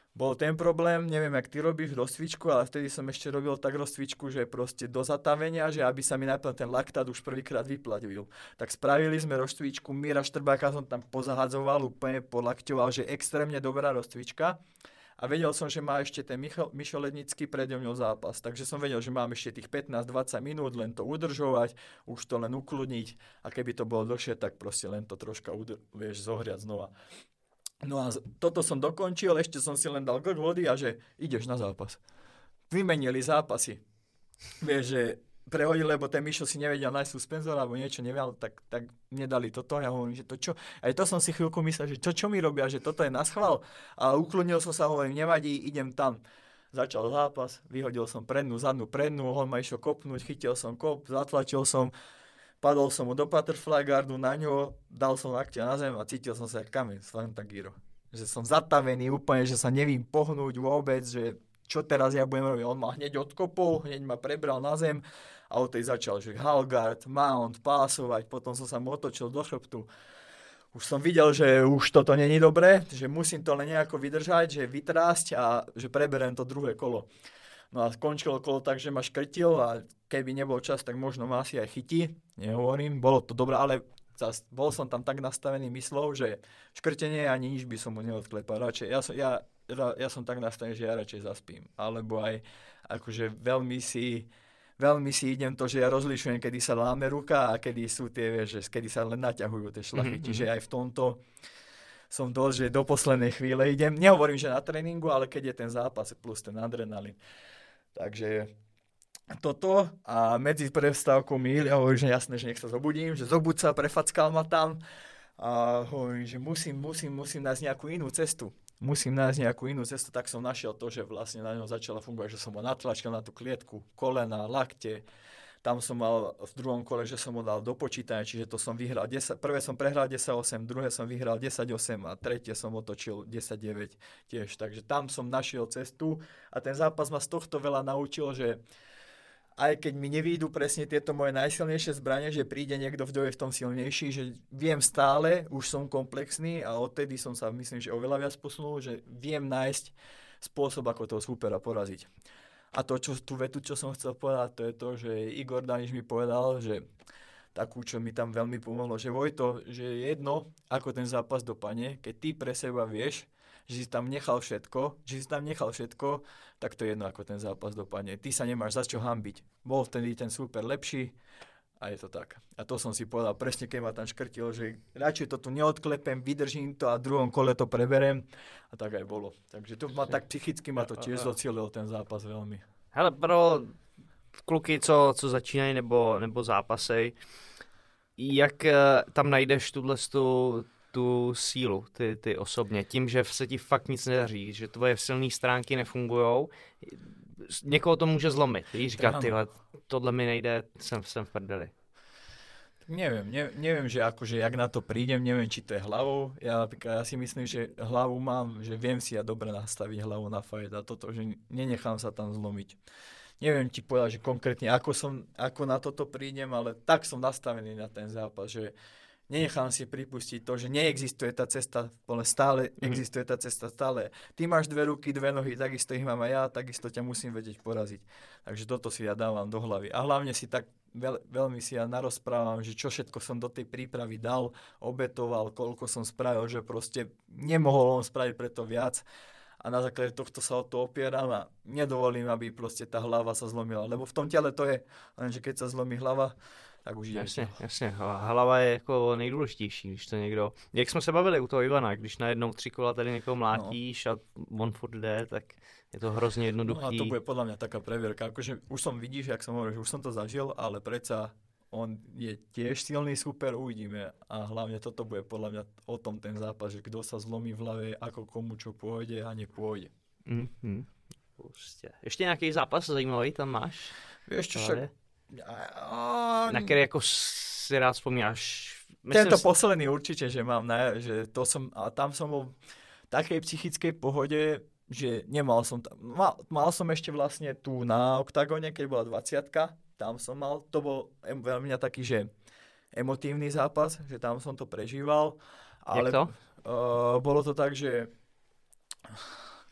bol ten problém, neviem, jak ty robíš rozcvičku, ale vtedy som ešte robil tak rozcvičku, že proste do zatavenia, že aby sa mi najprv ten laktát už prvýkrát vyplatil. Tak spravili sme rozcvičku, Míra Štrbáka som tam pozahadzoval, úplne polakťoval, že extrémne dobrá rozcvička. A vedel som, že má ešte ten Michal, Mišo Lednický predo mňou zápas. Takže som vedel, že mám ešte tých pätnásť dvadsať minút, len to udržovať, už to len ukludniť. A keby to bolo dlhšie, tak proste len to troška udr- vieš, zohriať znova. No a toto som dokončil, ešte som si len dal glk vody a že ideš na zápas. Vymenili zápasy. Vieš, že prehodili, lebo ten Mišo si nevedel nájsť suspenzor alebo niečo nevedel, tak, tak mne dali toto. Ja hovorím, že to čo? Aj to som si chvíľku myslel, že to čo mi robia, že toto je na schvál. A uklonil som sa, hovorím, nevadí, idem tam. Začal zápas, vyhodil som prednú, zadnú prednú, on ma išiel kopnúť, chytil som kop, zatlačil som, padol som mu do butterfly guardu na ňo, dal som lakťa na zem a cítil som sa jak kameň z Fantagiro. Že som zatavený úplne, že sa nevím pohnúť vôbec, že čo teraz ja budem robiť. On ma hneď odkopol, hneď ma prebral na zem a od tej začal, že halgard, mount, pásovať, potom som sa mu otočil do chrbtu. Už som videl, že už toto není dobré, že musím to len nejako vydržať, že vytrásť a že preberiem to druhé kolo. No a skončilo kolo tak, že ma škrtil a keby nebol čas, tak možno ma asi aj chytí. Nehovorím, bolo to dobré, ale zas, bol som tam tak nastavený myslou, že škrtenie ani nič by som mu neodklepal. Radšej, ja, som, ja, ja som tak nastavený, že ja radšej zaspím. Alebo aj akože veľmi si, veľmi si idem to, že ja rozlišujem, kedy sa láme ruka a kedy sú tie, vieš, že kedy sa len naťahujú tie šlachy. Mm-hmm. Čiže aj v tomto som dosť, že do poslednej chvíle idem. Nehovorím, že na tréningu, ale keď je ten zápas plus ten adrenalín. Takže toto a medzi prestávkou mi ja hovorím, že jasné, že nech sa zobudím, že zobud sa, prefackal ma tam a hovorím, že musím, musím, musím nájsť nejakú inú cestu. Musím nájsť nejakú inú cestu, tak som našiel to, že vlastne na ňom začala fungovať, že som ho natlačil na tú klietku, kolena, lakte. Tam som mal v druhom kole, že som ho dal do počítania, čiže to som vyhral desať, prvé som prehral desať osem, druhé som vyhral desať osem a tretie som otočil desať deväť tiež. Takže tam som našiel cestu a ten zápas ma z tohto veľa naučil, že aj keď mi nevídu presne tieto moje najsilnejšie zbranie, že príde niekto, kto je v tom silnejší, že viem stále, už som komplexný a odtedy som sa myslím, že oveľa viac posunul, že viem nájsť spôsob, ako toho supera poraziť. A to, čo, tú vetu, čo som chcel povedať, to je to, že Igor Daniš mi povedal, že takú, čo mi tam veľmi pomohlo, že Vojto, že je jedno, ako ten zápas dopadne, keď ty pre seba vieš, že si tam nechal všetko, že si tam nechal všetko, tak to je jedno, ako ten zápas dopadne. Ty sa nemáš za čo hanbiť. Bol vtedy ten super lepší a je to tak. A to som si povedal presne, keď ma tam škrtilo, že radšej to tu neodklepem, vydržím to a v druhom kole to preberem. A tak aj bolo. Takže to ma tak psychicky ma to tiež docielil ten zápas veľmi. Hele, pro kluky, co, co začínají nebo, nebo zápasej, jak tam najdeš tuhle tu, tu sílu, ty, ty osobně, tím, že se ti fakt nic nedaří, že tvoje silné stránky nefungujou, někoho to může zlomit, víš, říkat, tyhle, tohle mi nejde, jsem, jsem v prdeli. Neviem, ne, neviem, že akože jak na to prídem, neviem, či to je hlavou. Ja napríklad, ja si myslím, že hlavu mám, že viem si ja dobre nastaviť hlavu na fight a toto, že nenechám sa tam zlomiť. Neviem ti povedať, že konkrétne ako som, ako na toto prídem, ale tak som nastavený na ten zápas, že nenechám si pripustiť to, že neexistuje tá cesta, ale stále mm. existuje tá cesta, stále. Ty máš dve ruky, dve nohy, takisto ich mám aj ja, takisto ťa musím vedieť poraziť. Takže toto si ja dávam do hlavy. A hlavne si tak veľ, veľmi si ja narozprávam, že čo všetko som do tej prípravy dal, obetoval, koľko som spravil, že proste nemohol on spraviť preto viac. A na základe tohto sa o to opieram a nedovolím, aby proste tá hlava sa zlomila. Lebo v tom tele to je, lenže keď sa zlomí hlava, tak už jdeš. Jasně, jasně. Hlava je jako nejdůležitější, když to někdo... Jak jsme se bavili u toho Ivana, když najednou tři kola tady někoho mlátíš no. a on furt jde, tak je to hrozně jednoduchý. No a to bude podľa mňa taká previerka. Akože už som, vidíš, jak som hovoril, že už som to zažil, ale predsa on je tiež silný super, uvidíme. A hlavne toto bude podľa mňa o tom ten zápas, že kto sa zlomí v hlave, ako komu čo pôjde a nepôjde. Mm-hmm. Prostě. Ještě nějaký zápas zajímavý tam máš? Vieš čo, však... A... Na který jako si rád vzpomínáš? Myslím, tento posledný určite, že mám, ne, že to som, a tam som bol v takej psychickej pohode, že nemal som tam, mal, mal som ešte vlastne tu na Oktagone, keď bola dvadsiatka, tam som mal, to bol veľmi taký, že emotívny zápas, že tam som to prežíval. Ale, Jak to? Uh, bolo to tak, že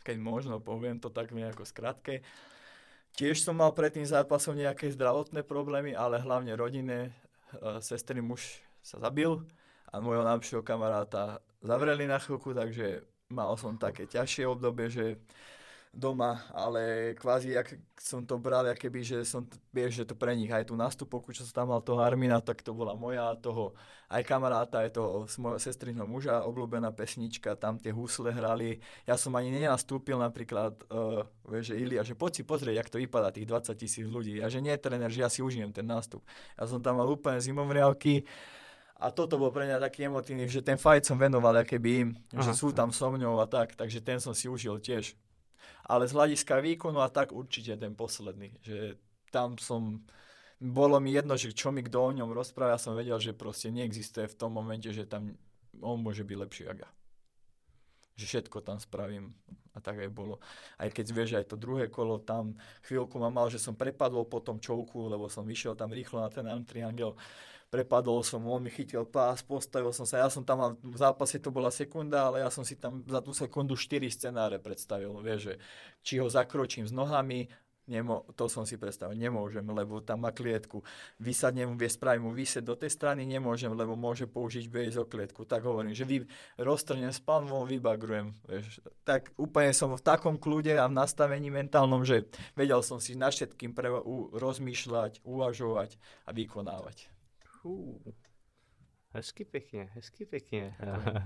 keď možno poviem to tak nejako skratke. Tiež som mal pred tým zápasom nejaké zdravotné problémy, ale hlavne rodinné. E, sestry muž sa zabil a môjho najlepšieho kamaráta zavreli na chvíľku, takže mal som také ťažšie obdobie, že doma, ale kvázi, jak som to bral, keby, že som, vieš, že to pre nich aj tú nástupovku, čo som tam mal toho Armina, tak to bola moja, toho aj kamaráta, aj toho mojho sestrinho muža, obľúbená pesnička, tam tie husle hrali. Ja som ani nenastúpil napríklad, uh, vieš, že Ilia, že poď si pozrieť, jak to vypadá, tých dvadsať tisíc ľudí. A že nie je tréner, že ja si užijem ten nástup. Ja som tam mal úplne zimovriavky. A toto bol pre mňa taký emotívny, že ten fight som venoval, keby im, že sú tam so mňou a tak, takže ten som si užil tiež. Ale z hľadiska výkonu a tak určite ten posledný, že tam som, bolo mi jedno, že čo mi kto o ňom rozpráva, ja som vedel, že proste neexistuje v tom momente, že tam on môže byť lepší ako ja. Že všetko tam spravím a tak aj bolo. Aj keď vieš, aj to druhé kolo, tam chvíľku ma mal, že som prepadol po tom čovku, lebo som vyšiel tam rýchlo na ten arm triangel. Prepadol som, on mi chytil pás, postavil som sa, ja som tam, v zápase to bola sekunda, ale ja som si tam za tú sekundu štyri scenáre predstavil, vieš, že či ho zakročím s nohami, nemo, to som si predstavil, nemôžem, lebo tam má klietku, vysadnem, vie spraviť mu výsed do tej strany, nemôžem, lebo môže použiť bejs o klietku, tak hovorím, že vy, roztrnem s panvom, vybagrujem, vieš, tak úplne som v takom kľude a v nastavení mentálnom, že vedel som si nad všetkým pre, u, rozmýšľať, uvažovať a vykonávať. Uh, hezky pěkně, hezky pěkně. uh,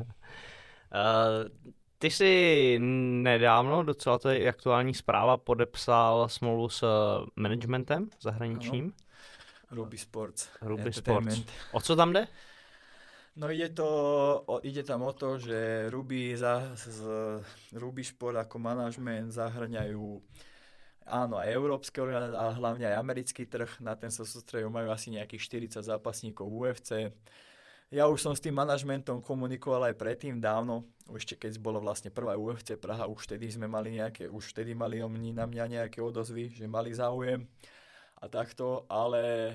ty jsi nedávno, docela to je aktuální zpráva, podepsal smlouvu s managementem zahraničním. Ano. Ruby Sports. Ruby Sports. O co tam jde? No ide to, o, ide tam o to, že Ruby, za, z, Ruby Sport ako manažment zahrňajú áno, aj európske organizácie, ale hlavne aj americký trh, na ten sa sústredujú, majú asi nejakých štyridsať zápasníkov U F C. Ja už som s tým manažmentom komunikoval aj predtým dávno, ešte keď bolo vlastne prvá U F C Praha, už vtedy sme mali nejaké, už vtedy mali oni na mňa nejaké odozvy, že mali záujem a takto, ale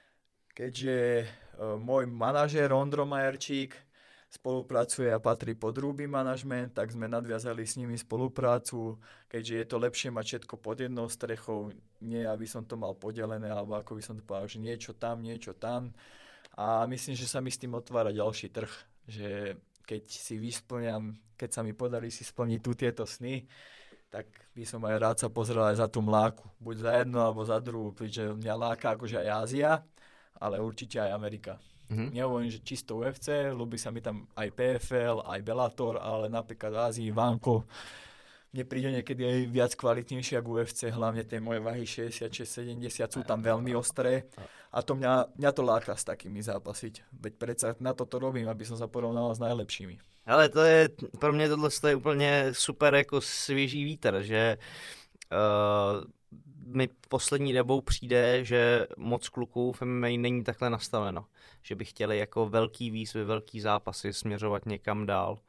keďže uh, môj manažér Ondro Majerčík spolupracuje a patrí pod Ruby Management, tak sme nadviazali s nimi spoluprácu, keďže je to lepšie mať všetko pod jednou strechou, nie aby som to mal podelené, alebo ako by som to povedal, že niečo tam, niečo tam. A myslím, že sa mi s tým otvára ďalší trh, že keď si vysplňam, keď sa mi podarí si splniť tu tieto sny, tak by som aj rád sa pozrel aj za tú mláku. Buď za jednu, alebo za druhú, pretože mňa láka akože aj Ázia, ale určite aj Amerika. Mm-hmm. Nehovorím, že čisto U F C, ľúbi sa mi tam aj P F L, aj Bellator, ale napríklad v Ázii, Vánko, mne príde niekedy aj viac kvalitnejšie ako U F C, hlavne tie moje váhy šesťdesiatšesť sedemdesiat sú tam veľmi ostré a to mňa, mňa to láka s takými zápasiť. Veď predsa na toto robím, aby som sa porovnal s najlepšími. Ale to je, pro mě tohle je úplně super jako svěží vítr, že uh, mi poslední dobou přijde, že moc kluků v M M A není takhle nastaveno. Že by chtěli jako velký výzvy, velký zápasy směřovat někam dál.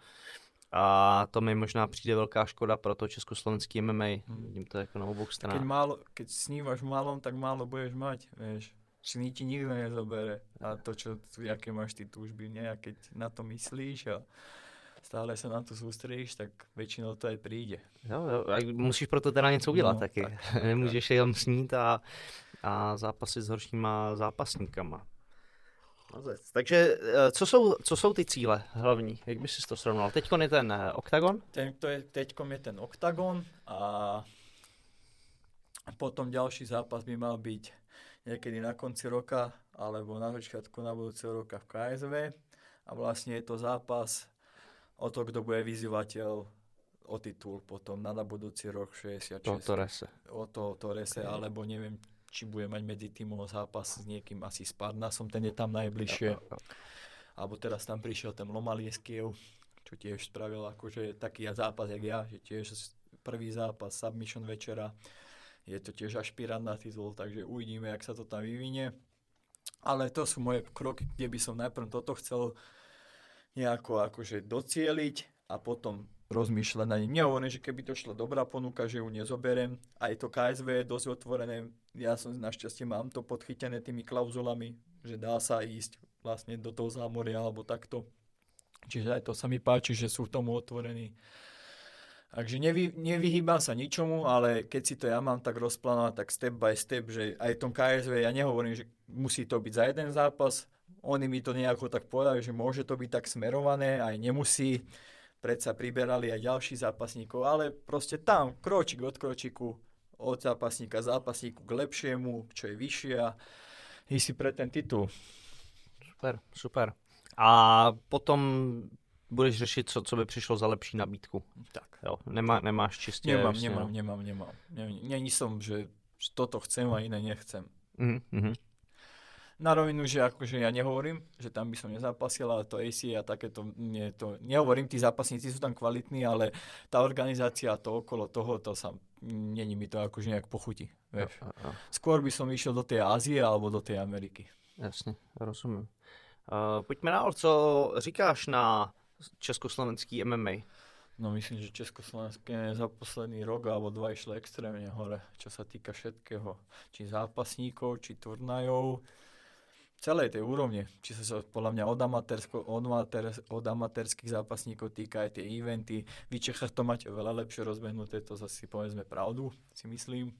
A to mi možná přijde velká škoda pro to československý M M A. Vidím to jako na obou stranách. Keď, málo, keď snívaš malom, tak málo budeš mať, vieš. Sní ti nikto nezobere. A to, čo, aké máš ty túžby, nie? A keď na to myslíš a stále se na to soustředíš, tak většinou to aj přijde. Jo, jo, musíš proto teda něco udělat no, taky. Tak. Nemůžeš jenom snít a, a zápasit s horšíma zápasníkama. Takže co jsou, co jsou ty cíle hlavní? Jak bys si to srovnal? Teďkon je ten Oktagon? Ten, to je, teďkom je ten Oktagon a potom ďalší zápas by mal byť niekedy na konci roka alebo na začiatku na budúceho roka v K S V a vlastne je to zápas o to, kto bude vyzývateľ o titul potom na, na budúci rok šesťdesiatšesť. To Torrese. O to Torrese, okay. Alebo neviem, či bude mať medzi týmom zápas s niekým, asi s Parnasom, ten je tam najbližšie. Ja, ja, ja. Alebo teraz tam prišiel ten Lomalieskiev, čo tiež spravil akože taký zápas, jak ja, že tiež prvý zápas, submission večera. Je to tiež ašpirant na titul, takže uvidíme, jak sa to tam vyvinie. Ale to sú moje kroky, kde by som najprv toto chcel nejako akože docieliť a potom rozmýšľať na ním. Nehovorím, že keby to šla dobrá ponuka, že ju nezoberiem. Aj to K S V je dosť otvorené. Ja som našťastie mám to podchytené tými klauzulami, že dá sa ísť vlastne do toho zámoria alebo takto. Čiže aj to sa mi páči, že sú v tomu otvorení. Takže nevy, nevyhýbam sa ničomu, ale keď si to ja mám tak rozplánovať, tak step by step, že aj v tom ká es vé ja nehovorím, že musí to byť za jeden zápas. Oni mi to nejako tak povedali, že môže to byť tak smerované, aj nemusí. Predsa priberali aj ďalších zápasníkov, ale proste tam, kročík od kročíku, od zápasníka zápasníku k lepšiemu, čo je vyššie a ísť si pre ten titul. Super, super. A potom budeš řešit, co, co by přišlo za lepší nabídku. Tak. Jo, nemá, nemáš čistě... Nemám, vlastně, nemám, no. nemám, nemám. Není som, že toto chcem a iné nechcem. Mm-hmm. Na rovinu, že akože ja nehovorím, že tam by som nezápasil, ale to á cé a takéto, nie, to, nehovorím, tí zápasníci sú tam kvalitní, ale tá organizácia, to okolo toho, to sa, není mi to akože nejak pochutí. Vieš. A, a, a. Skôr by som išiel do tej Ázie alebo do tej Ameriky. Jasně, rozumím. Uh, pojďme dál, co říkáš na československý em em á? No myslím, že Československé za posledný rok alebo dva išlo extrémne hore, čo sa týka všetkého. Či zápasníkov, či turnajov, celej tej úrovne. Či sa podľa mňa od, od, amatér, od amatérských zápasníkov týka aj tie eventy. Vy Čechách to máte veľa lepšie rozbehnuté, to zase povedzme pravdu, si myslím.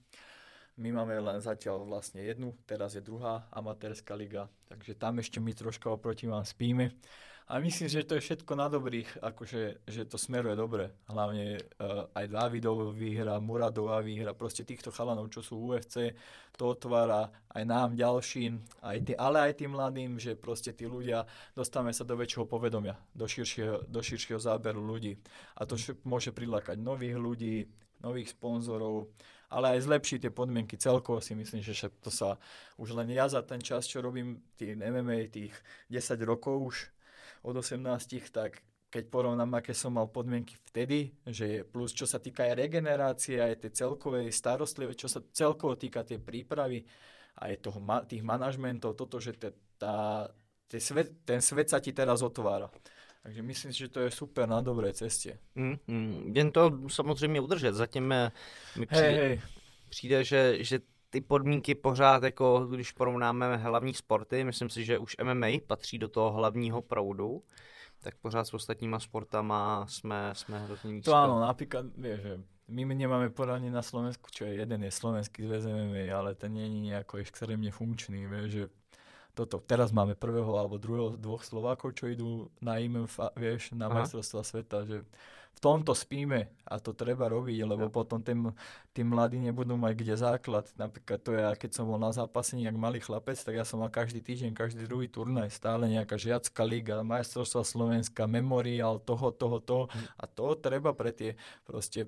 My máme len zatiaľ vlastne jednu, teraz je druhá amatérska liga, takže tam ešte my troška oproti vám spíme. A myslím, že to je všetko na dobrých, akože že to smeruje dobre. Hlavne uh, aj Dávidov výhra, Muradová výhra, proste týchto chalanov, čo sú v ú ef cé, to otvára aj nám ďalším, aj tý, ale aj tým mladým, že proste tí ľudia, dostávame sa do väčšieho povedomia, do širšieho, do širšieho záberu ľudí. A to môže prilákať nových ľudí, nových sponzorov, ale aj zlepšiť tie podmienky celkovo. Si myslím, že to sa už len ja za ten čas, čo robím tým em em á, tých desať rokov už, od osemnásť, tak keď porovnám, aké som mal podmienky vtedy, že plus čo sa týka aj regenerácie, aj tej celkovej starostlivosti, čo sa celkovo týka tej prípravy, aj toho, tých manažmentov, toto, že te, tá, te svet, ten svet sa ti teraz otvára. Takže myslím si, že to je super na dobrej ceste. Mm, mm, jen to samozřejmě udržet. Zatím mi přijde, hey, hey. přijde že, že ty podmínky pořád, jako když porovnáme hlavní sporty, myslím si, že už em em á patří do toho hlavního proudu, tak pořád s ostatníma sportama jsme, jsme hrozně nízko. To áno, napríklad, vieš, že my nemáme poradne na Slovensku, čo je jeden je slovenský zväz em em á, ale ten nie je nejako extrémne funkčný, vieš, že toto, teraz máme prvého alebo druhého, dvoch Slovákov, čo idú na í em ef, vieš, na majstrovstvá sveta, že v tomto spíme a to treba robiť, lebo ja. potom tým, tí mladí nebudú mať kde základ. Napríklad to ja, keď som bol na zápasení jak malý chlapec, tak ja som mal každý týždeň, každý druhý turnaj, stále nejaká žiacka liga, majstrovstvá Slovenska, memoriál, toho, toho, toho. A to treba pre tie proste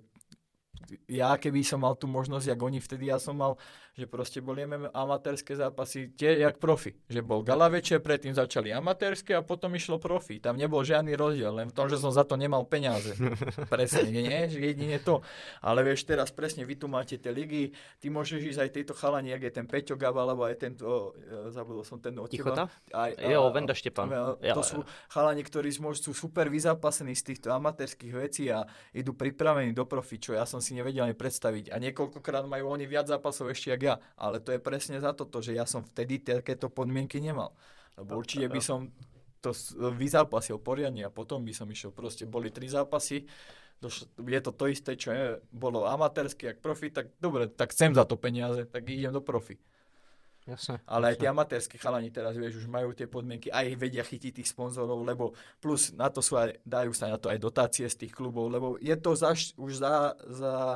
ja keby som mal tú možnosť, jak oni vtedy, ja som mal, že proste boli amatérske zápasy tie jak profi. Že bol gala večer, predtým začali amatérske a potom išlo profi. Tam nebol žiadny rozdiel, len v tom, že som za to nemal peniaze. Presne, nie? Že jedine to. Ale vieš, teraz presne vy tu máte tie ligy, ty môžeš ísť aj tejto chalani, jak je ten Peťo Gaba, alebo aj tento, zabudol som ten od teba. Aj, jo, Venda Štepan. To sú chalani, ktorí sú super vyzápasení z týchto amatérskych vecí a idú pripravení do profi, čo ja som si nevedel ani predstaviť. A niekoľkokrát majú oni viac zápasov ešte jak ja. Ale to je presne za toto, že ja som vtedy takéto podmienky nemal. Lebo určite by som to vyzápasil poriadne a potom by som išiel. Proste boli tri zápasy, je to to isté, čo je, bolo amatérske jak profi, tak dobre, tak chcem za to peniaze, tak idem do profi. Jasne, ale jasne. Aj tie amatérske chalani teraz, vieš, už majú tie podmienky, aj vedia chytiť tých sponzorov, lebo plus na to sú aj, dajú sa na to aj dotácie z tých klubov, lebo je to zaš, už za, za,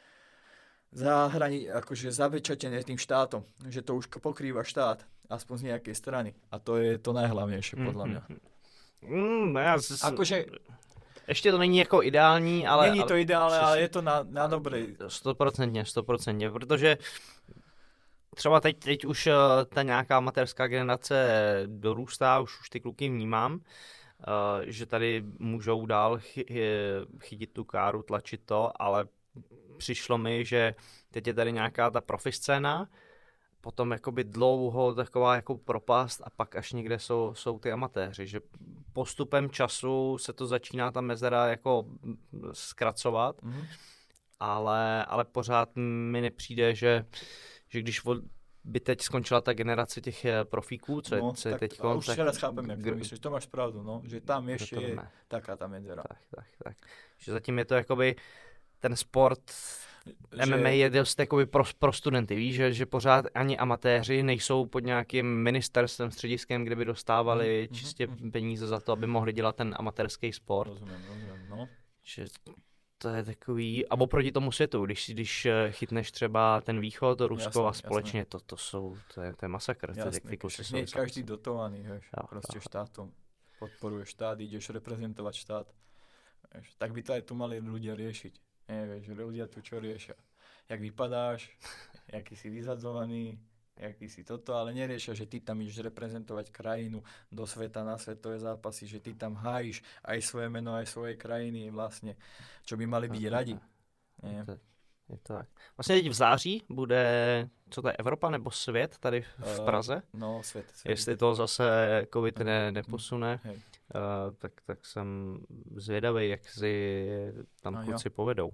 za hrani, akože zabečatené tým štátom, že to už pokrýva štát, aspoň z nejakej strany. A to je to najhlavnejšie, podľa mňa. Mm, ja z... Akože... Ještě to není jako ideální, ale... Není to ideálne, ale je to na, na dobrej. Stoprocentně, stoprocentně, protože třeba teď, teď už ta nějaká amatérská generace dorůstá, už, už ty kluky vnímám, uh, že tady můžou dál chy, chytit tu káru, tlačit to, ale přišlo mi, že teď je tady nějaká ta profi scéna, potom jakoby dlouho taková jako propast a pak až někde jsou, jsou ty amatéři, že postupem času se to začíná ta mezera jako zkracovat, mm-hmm. ale, ale pořád mi nepřijde, že, že když by teď skončila ta generace těch profíků, co je, no, co je tak, teď... Už tak, teraz chápem, jak to myslíš, to máš pravdu, no, že tam ještě je ne. taká ta medzera. Tak, tak, tak. Že zatím je to jakoby ten sport že... M M A je dost jakoby pro, pro studenty, víš, že, že pořád ani amatéři nejsou pod nějakým ministerstvem, střediskem, kde by dostávali mm, čistě mm, peníze za to, aby mohli dělat ten amatérský sport. Rozumím, rozumím, no. Že to je takový, a oproti tomu světu, když, když chytneš třeba ten východ, to Rusko jasný, a společně, to, to jsou, to je, to je masakr. Jasný, je každý dotovaný, vieš, jo, prostě jo. Štátom. Podporuješ štát, ideš reprezentovať štát. Vieš, tak by to aj tu mali ľudia riešiť. Nie, vieš, ľudia tu čo riešia. Jak vypadáš, jaký si vyzadzovaný, jaký si toto, ale neriešia, že ty tam ideš reprezentovať krajinu do sveta na svetové zápasy, že ty tam hájíš aj svoje meno, aj svojej krajiny vlastne, čo by mali byť radi. Je to, je to tak. Vlastně teď v září bude, co to je, Evropa nebo svět tady v Praze? Uh, no, svět. svět. Jestli to zase covid ne, neposune, uh, tak, tak jsem zvědavý, jak si tam no, kluci jo. povedou.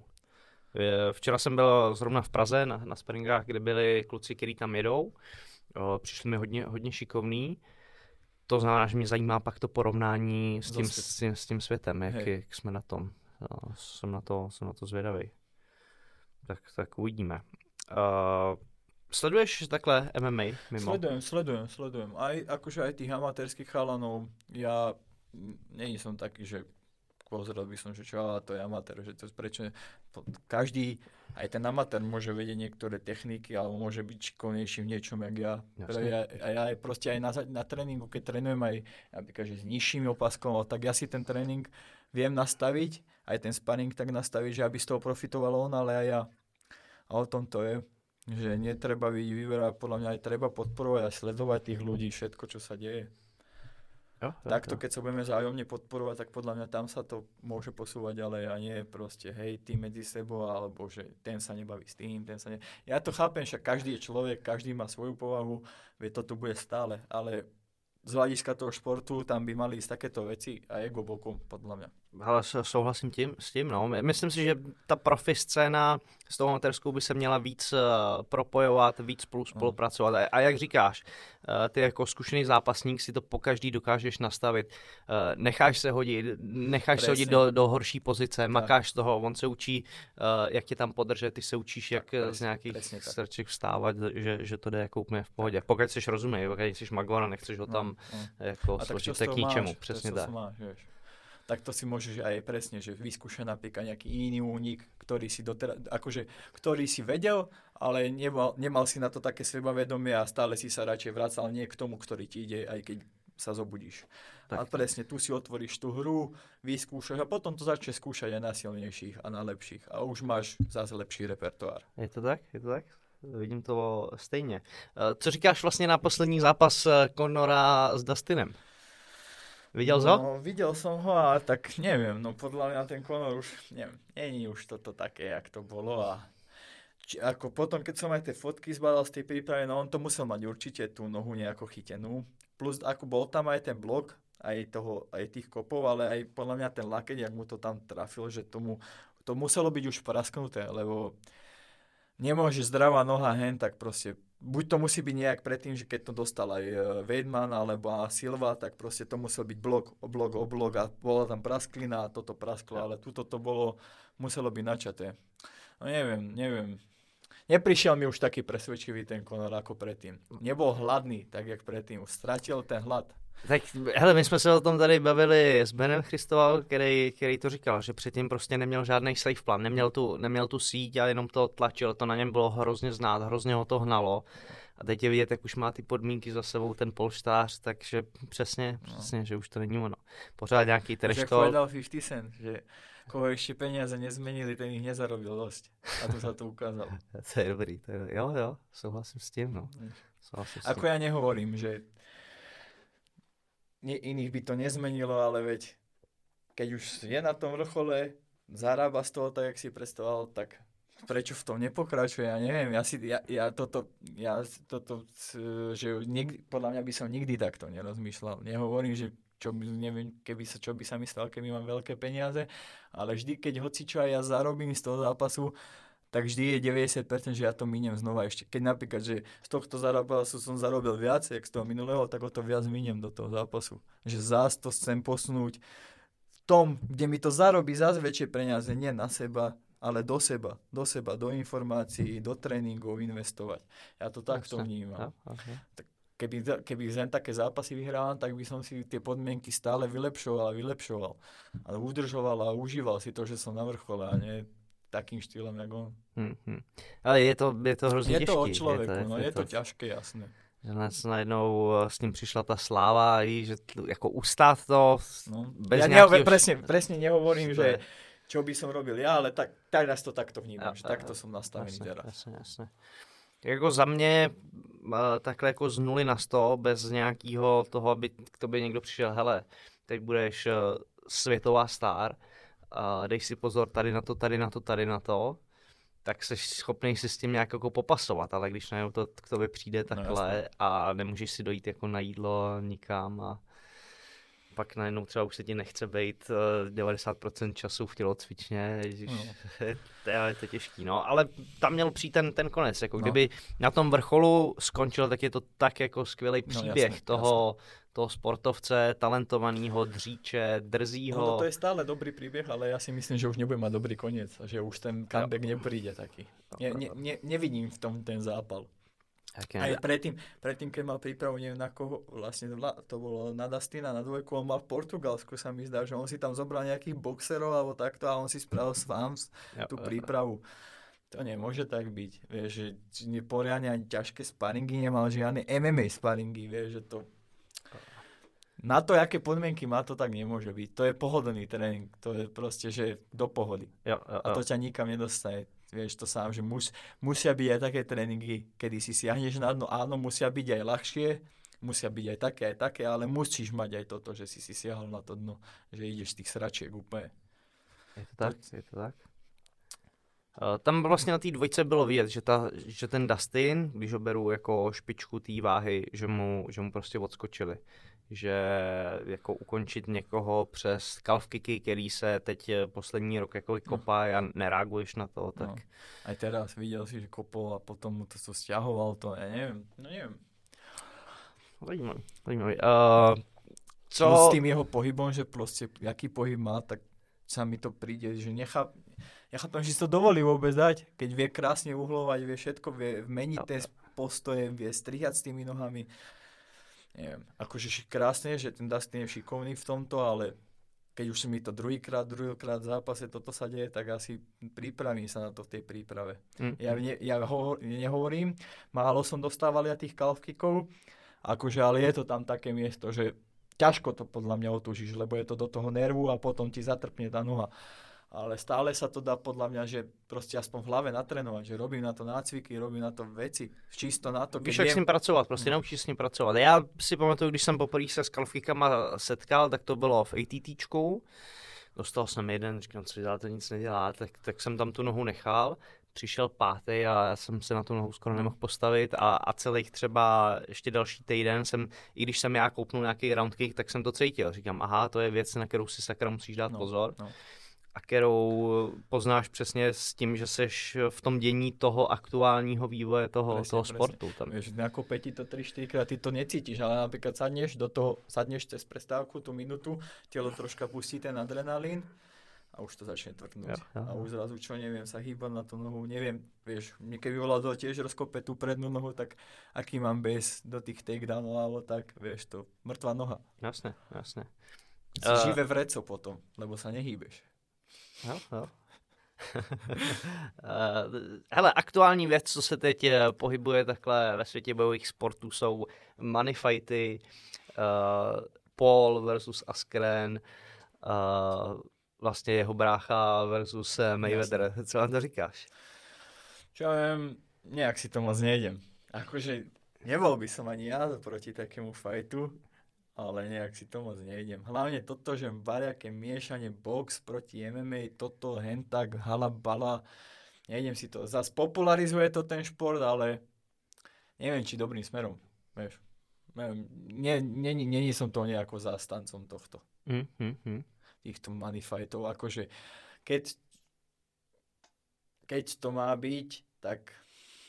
Včera jsem byl zrovna v Praze na, na sparingách, kde byli kluci, kteří tam jedou. O, přišli mi hodně, hodně šikovný. To znamená, že mě zajímá pak to porovnání s tím, s tím, s tím světem, jak, jak jsme na tom. O, jsem, na to, jsem na to zvědavý. Tak, tak uvidíme. Uh, sleduješ takhle M M A mimo? Sledujem, sledujem, sledujem. Aj, akože aj tých amatérských chalanov. Ja nie som taký, že pozrel by som, že čo, ale to je amatér, že to prečo každý, aj ten amatér môže vedieť niektoré techniky, alebo môže byť šikovnejší v niečom, jak ja. Ja, ja aj proste aj na, na tréningu, keď trénujem aj napríklad, že s nižšími opaskom, tak ja si ten tréning viem nastaviť, aj ten sparring tak nastaviť, že aby z toho profitoval on, ale aj ja. A o tom to je, že netreba byť vyberať, podľa mňa aj treba podporovať a sledovať tých ľudí, všetko, čo sa deje. Jo, jo, Takto, jo. Keď sa budeme vzájomne podporovať, tak podľa mňa tam sa to môže posúvať ďalej a nie proste hej, ty medzi sebou, alebo že ten sa nebaví s tým, ten sa ne... Ja to chápem, však každý je človek, každý má svoju povahu, vie, to tu bude stále, ale z hľadiska toho športu tam by mali ísť takéto veci a ego bokom, podľa mňa. Ale souhlasím tím, s tím, no. Myslím si, že ta profi scéna s tou amatérskou by se měla víc uh, propojovat, víc spolu spolupracovat. A, a jak říkáš, uh, ty jako zkušený zápasník si to pokaždý dokážeš nastavit. Uh, necháš se hodit, necháš Presne. se hodit do, do horší pozice, tak. makáš toho, on se učí, uh, jak tě tam podržet, ty se učíš, jak tak, z nějakých strček vstávat, že, že to jde jako úplně v pohodě. Pokud jsi rozumnej, pokud jsi Magor a nechceš ho tam no, no. jako složit k ničemu. Přesně tak. Tak to si môžeš aj presne, že vyskúšať napríklad nejaký iný únik, ktorý si doteraz, akože, ktorý si vedel, ale nemal, nemal si na to také sebavedomie a stále si sa radšej vracal nie k tomu, ktorý ti ide, aj keď sa zobudíš. Tak. A presne, tu si otvoríš tú hru, vyskúšaš a potom to začne skúšať aj na silnejších a na lepších a už máš zase lepší repertoár. Je to tak? Je to tak? Vidím to stejně. Co říkáš vlastně na poslední zápas Conora s Dustinem? Videl no, ho? Videl som ho a tak neviem, no podľa mňa ten Conor už, neviem, nie je už toto také, jak to bolo a či, ako potom, keď som aj tie fotky zbadal z tej prípravy, no on to musel mať určite tú nohu nejako chytenú, plus ako bol tam aj ten blok, aj toho, aj tých kopov, ale aj podľa mňa ten lakeť, jak mu to tam trafil, že tomu, to muselo byť už prasknuté, lebo nemôže zdravá noha hen, tak proste buď to musí byť nejak predtým, že keď to dostal aj Weidman alebo Silva, tak proste to musel byť blok o blok o blok a bola tam prasklina a toto prasklo, ale tuto to bolo, muselo byť načaté. No neviem, neviem. Neprišiel mi už taký presvedčivý ten Conor ako predtým. Nebol hladný, tak jak predtým. Stratil ten hlad. Tak hele, my jsme se o tom tady bavili s Benem Christoval, který, který to říkal, že předtím prostě neměl žádný safe plan, neměl tu, neměl tu síť a jenom to tlačil, to na něm bylo hrozně znát, hrozně ho to hnalo. A teď je vidět, jak už má ty podmínky za sebou ten polštář, takže přesně, přesně, no. že už to není ono. Pořád nějaký trash talk. Jak povedal fifty cent, že koho ještě peníze nezmenili, ten ich nezarobil dosť. A to sa to ukázalo. To je dobrý, to je, jo, jo, souhlasím s tím, no. Souhlasím s tím. Ako ja nehovorím, že Nie, iných by to nezmenilo, ale veď keď už je na tom vrchole, zarába z toho tak, jak si predstavoval, tak prečo v tom nepokračuje? Ja neviem, ja si, ja, ja toto, ja toto, že nikdy, podľa mňa by som nikdy takto nerozmýšľal. Nehovorím, že čo by, neviem, keby sa, čo by sa myslel, keby mám veľké peniaze, ale vždy, keď hocičo aj ja zarobím z toho zápasu, tak vždy je deväťdesiat percent, že ja to miniem znova ešte. Keď napríklad, že z tohto zápasu som zarobil viac, jak z toho minulého, tak o to viac miniem do toho zápasu. Že zás to chcem posunúť v tom, kde mi to zarobí zás väčšie peniaze, nie na seba, ale do seba, do seba, do informácií, do tréningov investovať. Ja to takto vnímam. Tak keby, keby len také zápasy vyhrávam, tak by som si tie podmienky stále vylepšoval a vylepšoval. A udržoval a užíval si to, že som na vrchole a nie takým štýlom, jak on. Hmm. Ale je to, je to hrozně je těžký. To o člověku, je to, no, je, je to, to těžké, jasné. Že nás najednou s ním přišla ta sláva, i že jako ustát to no. bez ja nějakého... Ja presne, presne nehovorím, že čo by som robil ja, ale tak, tak nás to takto vnímám, že takto som nastavený jasne, teraz. Jasne, jasne. Jako za mě takhle jako z nuly na sto, bez nějakého toho, aby k tobě někdo přišel, hele, teď budeš světová star, dej si pozor tady na to, tady na to, tady na to, tak jsi schopný si s tím nějak jako popasovat, ale když najednou to k tobě přijde takhle no, a nemůžeš si dojít jako na jídlo nikam a pak najednou třeba už se ti nechce být devadesát procent času v tělocvičně, no. to, je, to je těžký, no, ale tam měl přijít ten, ten konec, jako no. Kdyby na tom vrcholu skončil, tak je to tak jako skvělý příběh no, jasne, toho, jasne. toho sportovce, talentovaného, dříče, drzího. No, to je stále dobrý príbeh, ale ja si myslím, že už nebude mať dobrý koniec a že už ten comeback no. nepríde taký. Ne, ne, ne, nevidím v tom ten zápal. Aj predtým, predtým, keď mal prípravu, neviem na koho, vlastne to bolo na Dustina, na dvojku, on mal v Portugalsku, sa mi zdá, že on si tam zobral nejakých boxerov alebo takto a on si spravil sám tú prípravu. To nemôže tak byť, vieš, že poriadne ani ťažké sparingy nemal, žiadne em em á sparingy, vieš, že to... Na to, aké podmienky má, to tak nemôže byť. To je pohodlný tréning, to je proste, že do pohody. Jo, jo, jo. A to ťa nikam nedostane. Vieš to sám, že mus, musia byť aj také tréningy, kedy si siahneš na dno, áno, musia byť aj ľahšie, musia byť aj také, aj také, ale musíš mať aj toto, že si si siahol na to dno, že ideš z tých sračiek úplne. Je to tak, to... je to tak. Uh, tam vlastně na té dvojce bylo vidět, že, ta, že ten Dustin, když ho beru jako špičku té váhy, že mu, že mu prostě odskočili. Že jako ukončit někoho přes calf kicky, který se teď poslední rok jako kopá a nereaguješ na to, tak... No. Aj teraz viděl si, že kopol a potom mu to co stiahoval, to ja neviem, no neviem. Zajímavý, zajímavý. Uh, co... No s tým jeho pohybom, že proste, jaký pohyb má, tak sa mi to príde, že nechá... Ja chápem, že si to dovolí vôbec dať, keď vie krásne uhlovať, vie všetko, vie meniť ten postoje, vie strihať s tými nohami. Neviem, akože krásne, že ten Dustin je šikovný v tomto, ale keď už mi to druhýkrát, druhýkrát v zápase toto sa deje, tak asi pripravím sa na to v tej príprave. Mm. Ja, ne, ja ho, nehovorím, málo som dostával ja tých calf kickov, akože, ale je to tam také miesto, že ťažko to podľa mňa otúžiš, lebo je to do toho nervu a potom ti zatrpne tá noha. Ale stále sa to dá podľa mňa, že proste aspoň v hlave natrénovať, že robím na to nácviky, robím na to veci, čisto na to. Víš, jak s ním pracovat, prostě no. Naučíš s ním pracovat. Já si pamatuju, když jsem poprvé se s kalfíkama setkal, tak to bylo v ATTčku. Dostal jsem jeden, říkám, co dělá, to nic nedělá, tak, tak jsem tam tu nohu nechal. Přišel pátý a já jsem se na tu nohu skoro nemohl postavit a, a celých třeba ještě další týden jsem, i když jsem já koupnul nějaký round kick, tak jsem to cítil. Říkám, aha, to je věc, na kterou si sakra musíš dát no, pozor. No. A kterou poznáš přesně s tím, že seš v tom dění toho aktuálního vývoje toho, presne, toho sportu. Tam. Vieš, nakopé ti to tri štyri krát, ty to necítiš, ale napríklad sadneš do toho, sadneš cez prestávku, tú minútu, telo troška pustí ten adrenalín a už to začne tvrdnúť. Ja, ja. A už zrazu čo, neviem, sa hýbať na tú nohu, neviem, vieš, mne keby bola to tiež rozkope tú prednú nohu, tak aký mám base do tých takedownov, alebo tak, vieš, to mŕtva noha. Jasne, jasne. Si uh... živé vreco potom, lebo sa nehýbeš. Jo, jo. Hele, aktuální věc, co se teď pohybuje takhle ve světě bojových sportů, jsou money fighty, uh, Paul versus Askren, uh, vlastně jeho brácha versus Mayweather. Jasne. Co vám to říkáš? Čo ja viem, nejak si to moc nejdem. Akože nebol by som ani ja proti takému fightu, ale nejak si to moc nejdem. Hlavne toto, že variaké miešanie box proti em em á, toto, hentak, halabala, nejdem si to. Zas popularizuje to ten šport, ale neviem, či dobrým smerom, vieš. Nie, nie, nie, nie som to nejako zástancom tohto. Mm, mm, mm. Týchto money fightov, akože keď, keď to má byť, tak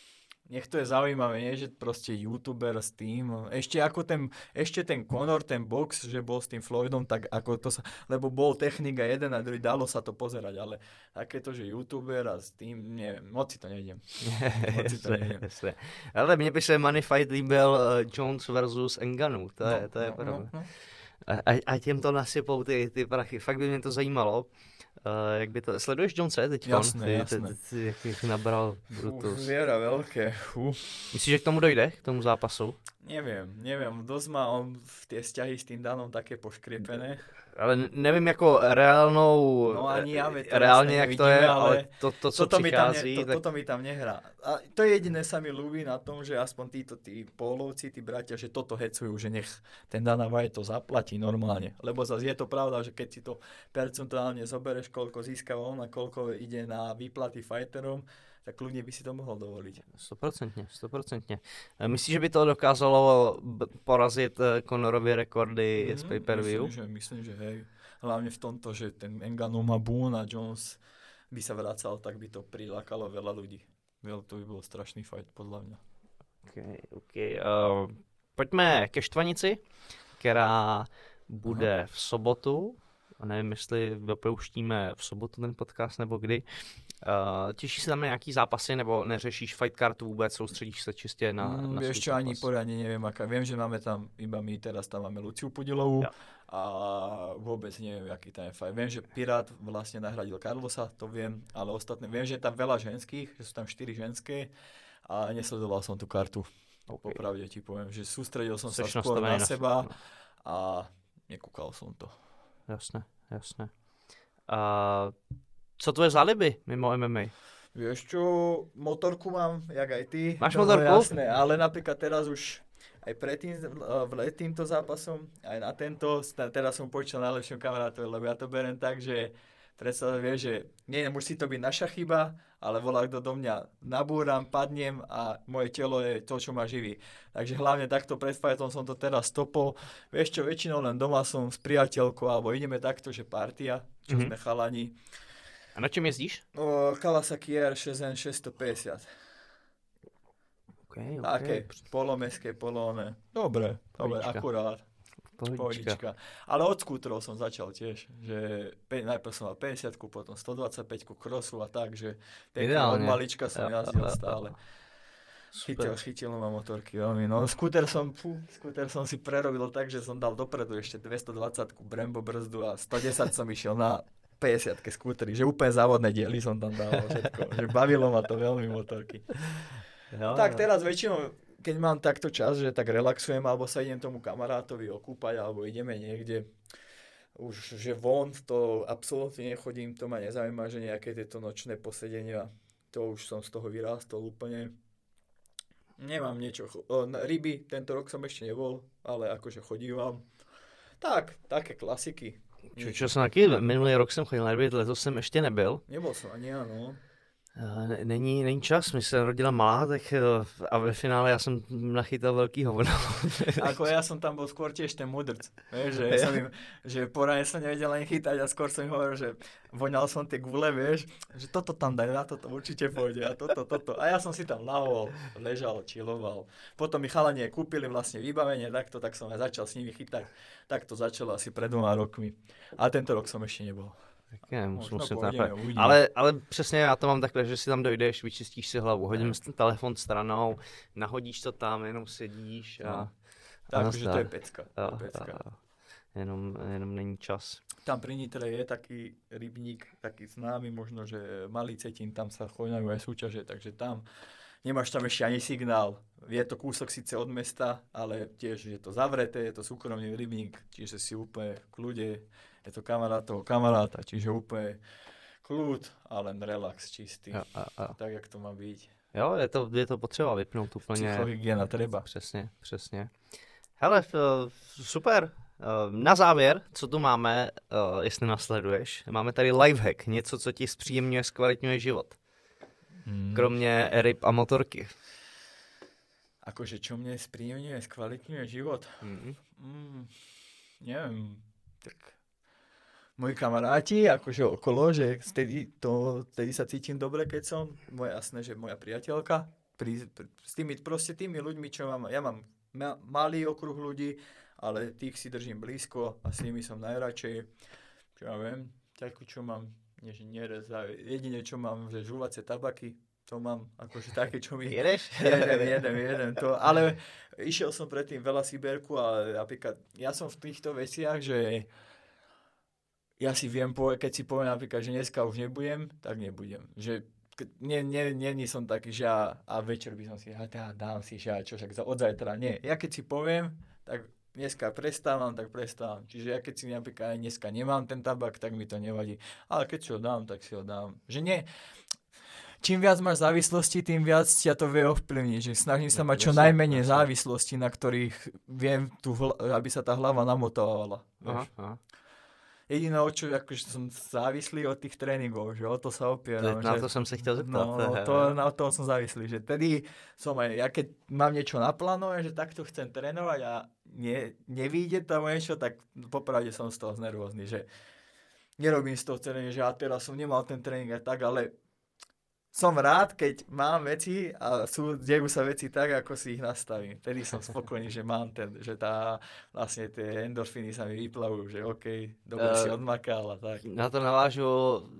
nech to je zaujímavé, nie, že proste youtuber s tým, ešte ako ten, ešte ten Conor, ten box, že bol s tým Floydom, tak ako to sa, lebo bol technika jeden a druhý, dalo sa to pozerať, ale takéto, že youtuber a s tým, neviem, moc si to nejdem. Moc si to nejdem. Ale mně by se Money Fight líbil uh, Jones versus Ngannou, to je, no, to je no, pravda. No, no. A, a těm to nasypou ty, ty prachy, fakt by mě to zajímalo. Uh, jak by to, sleduješ Jonese teď? Jasné, ty, jasné. Ty, ty, ty, jak jich nabral Brutus. Viera veľké. Uf. Myslíš, že k tomu dojde, k tomu zápasu? Neviem, neviem, dosť má on v tie vzťahy s tým Danom také poškriepené. Ale nevím jako reálnou, no ani ja, reálně jak to je, ale, ale to, to co toto přichází. Mi tam ne, to, tak... Toto mi tam nehrá. A to jediné sa mi ľúbi na tom, že aspoň títo tí pólovci, tí bratia, že toto hecujú, že nech ten Dana White to zaplatí normálne. Lebo zase je to pravda, že keď si to percentuálne zobereš, koľko získava on a koľko ide na výplaty fighterom, tak kľudne by si to mohol dovoliť. Stoprocentně, stoprocentně. Myslíš, že by to dokázalo porazit Conorovy rekordy mm, z pay-per-view? Myslím, že, myslím, že hej. Hlavne v tomto, že ten Ngannou má Boone a Jones by sa vracal, tak by to prilákalo veľa ľudí. To by bol strašný fight, podľa mňa. Okay, okay. Uh, pojďme ke štvanici, která bude Aha. v sobotu. A nevím, jestli dopouštíme v sobotu ten podcast nebo kdy. Uh, těšíš se tam na nějaký zápasy, nebo neřešíš fight card vůbec, soustředíš se čistě na, mm, na vieš čo, ani poriadne neviem, aká. Viem, že máme tam, iba my teraz tam máme Luciu Pudilovú ja. a vôbec neviem, aký tam je fight. Viem, že Pirát vlastne nahradil Carlosa, to viem, ale ostatné, viem, že je tam veľa ženských, že sú tam štyri ženské a nesledoval som tú kartu. Okay. Popravde ti poviem, že sústredil som Seš sa skôr na, na seba no. a nekúkal som to. Jasné, jasné. A co tvoje záliby mimo em em á? Vieš čo, motorku mám, jak aj ty. Máš no, motorku? Jasné, ale napríklad teraz už aj predtým, v týmto zápasom, aj na tento, teraz som počal najlepším kamarátovi, lebo ja to beriem tak, že predstav, vieš, že nie, musí to byť naša chyba, ale volá, kto do mňa nabúram, padnem a moje telo je to, čo ma živí. Takže hlavne takto pred fightom som to teraz stopol. Vieš čo, väčšinou len doma som s priateľkou, alebo ideme takto, že partia, čo mm-hmm. sme chalani. A na čem jezdíš? O, Kawasaki R šesť N šesťstopäťdesiat. Okay, okay. Také polomestské, polóne. Dobre, dobre, akurát. Pohodička. Ale od skútrov som začal tiež, že pe- najprv som mal päťdesiatku, potom stodvadsaťpäťku crossu a tak, že od malička som ja, jazdil ja, stále. Chytil, chytil ma motorky veľmi. No, skúter som, fú, skúter som si prerobil tak, že som dal dopredu ešte dvestodvadsaťku Brembo brzdu a stodesať som išiel na päťdesiatke skútery, že úplne závodné diely som tam dával všetko. Že bavilo ma to veľmi motorky. Jo, tak jo. Teraz väčšinou keď mám takto čas, že tak relaxujem, alebo sa idem tomu kamarátovi okúpať, alebo ideme niekde, už že von, to absolútne nechodím, to ma nezaujíma, že nejaké tieto nočné posedenia, to už som z toho vyrástol úplne. Nemám niečo, ryby, tento rok som ešte nebol, ale akože chodívam. Tak, také klasiky. Čo, čo som taky, minulý rok jsem chodil na ryby, letos jsem ještě nebyl. Nebol som ani, áno. Není, není čas, mi se rodila malá, tak a ve finále já jsem nachytal velký hovno. Ako ja som tam bol skôr tiež ten mudrc, vieš, že, ja som im, že poradne som nevedel ani chytať a skôr som im hovoril, že voňal som tie gule, vieš, že toto tam daj, na toto určite pôjde a toto, toto. A ja som si tam lahol, ležal, chilloval. Potom mi chalanie kúpili vlastne vybavenie takto, tak som aj začal s nimi chytať. Tak to začalo asi pred dvoma rokmi. A tento rok som ešte nebol. Tak ne, musím, musím pohodě, ale, ale přesně já to mám takhle, že si tam dojdeš, vyčistíš si hlavu, hodím si ten telefon stranou, nahodíš to tam, jenom sedíš a... No. Takže to je pecka. To je pecka. A, a, jenom, jenom není čas. Tam pri Nitre je taký rybník, taký známy, možno, že Malý Cetín, tam sa choňajú aj súťaže, takže tam nemáš tam ešte ani signál. Je to kúsok síce od mesta, ale tiež je to zavreté, je to súkromný rybník, čiže si úplne v kľude. Je to kamarát toho kamaráta, čiže úplne kľud a len relax čistý. A, a, a. Tak, jak to má byť. Jo, je to, je to potřeba vypnout úplně. Psychohygiena treba. Přesně, přesně. Hele, super. Na závěr, co tu máme, jestli nasleduješ, máme tady lifehack, něco, co ti zpříjemňuje, zkvalitňuje život. Hmm. Kromě ryb a motorky. Akože čo mne zpříjemňuje, zkvalitňuje život? Hmm. Mm, neviem, tak... Moji kamaráti, akože okolo, že vtedy, to, vtedy sa cítim dobre, keď som, moje jasné, že moja priateľka, pri, pri, s tými, proste tými ľuďmi, čo mám, ja mám ma, malý okruh ľudí, ale tých si držím blízko a s nimi som najradšej, čo ja viem, takú, čo mám, nie, že nerezá, jedine, čo mám, že žuvacie tabaky, to mám, akože také, čo mi... Jedeš? Jedem, jedem, jedem, to, ale išiel som predtým veľa Siberku a napríklad, ja som v týchto veciach, že ja si viem, keď si poviem napríklad, že dneska už nebudem, tak nebudem, že nie, nie, nie, nie som taký, že ja, a večer by som si, a teda dám si, že ja čo, však od zajtra, nie. Ja keď si poviem, tak dneska prestávam, tak prestávam. Čiže ja keď si napríklad aj dneska nemám ten tabak, tak mi to nevadí. Ale keď si ho dám, tak si ho dám. Že nie, čím viac máš závislosti, tým viac ťa to vie ovplyvniť. Že snažím sa mať čo najmenej závislostí, na ktorých viem, tu, aby sa tá hlava namotovala. Aha, aha. Jediné, o čo akože som závislý od tých tréningov, že o to sa opieram. Na že, to som sa chcel zeptat. No, no to, na to som závislý, že tedy som aj, ja keď mám niečo naplánované, že takto chcem trénovať a ne, nevíde tam niečo, tak popravde som z toho znervózny, že nerobím z toho tréning, že ja teraz som nemal ten tréning aj tak, ale som rád, keď mám veci a sú, dejú sa veci tak, ako si ich nastavím. Vtedy som spokojný, že mám ten, že tá, vlastne tie endorfíny sa mi vyplavujú, že OK, dobre uh, si odmakal a tak. Na to navážu,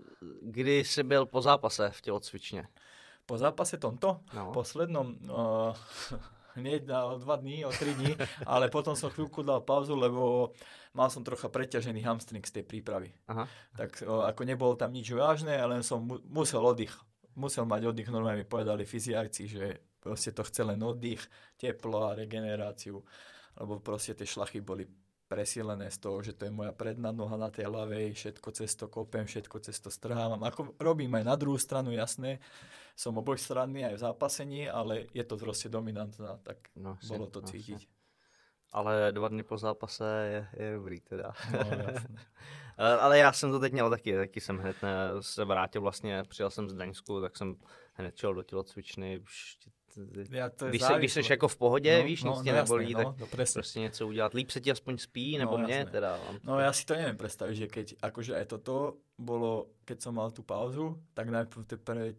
kdy jsi byl po zápase v tělocvičně? Po zápase tomto? No. Poslednom? Uh, hneď na dva dní, o tri dní, ale potom som chvíľku dal pauzu, lebo mal som trocha preťažený hamstring z tej prípravy. Aha. Tak uh, ako nebolo tam nič vážne, len som mu- musel oddych. Musel mať oddych, normálne mi povedali fyziáci, že proste to chce len oddych, teplo a regeneráciu, lebo proste tie šlachy boli presílené z toho, že to je moja predná noha na tej ľavej, všetko cez to kopem, všetko cez to strhávam. Ako robím aj na druhú stranu, jasné, som obojstranný aj v zápasení, ale je to proste dominantná, tak no, bolo to cítiť. No, ale dva dny po zápase je, je dobrý teda. No, jasné. Ale já jsem to teď měl taky, taky jsem hned ne, se vrátil vlastně, přijel jsem z Daňsku, tak jsem hned šel do tělocvičny. Ja, to je když, se, když jsi jako v pohodě, no, víš, no, nic tě no, nebolí, jasné, tak no, no, prostě něco udělat. Líp se ti aspoň spí, nebo no, mě teda. No ja si to neviem predstaviť, že keď akože aj toto bolo, keď som mal tú pauzu, tak najprv tie prvé,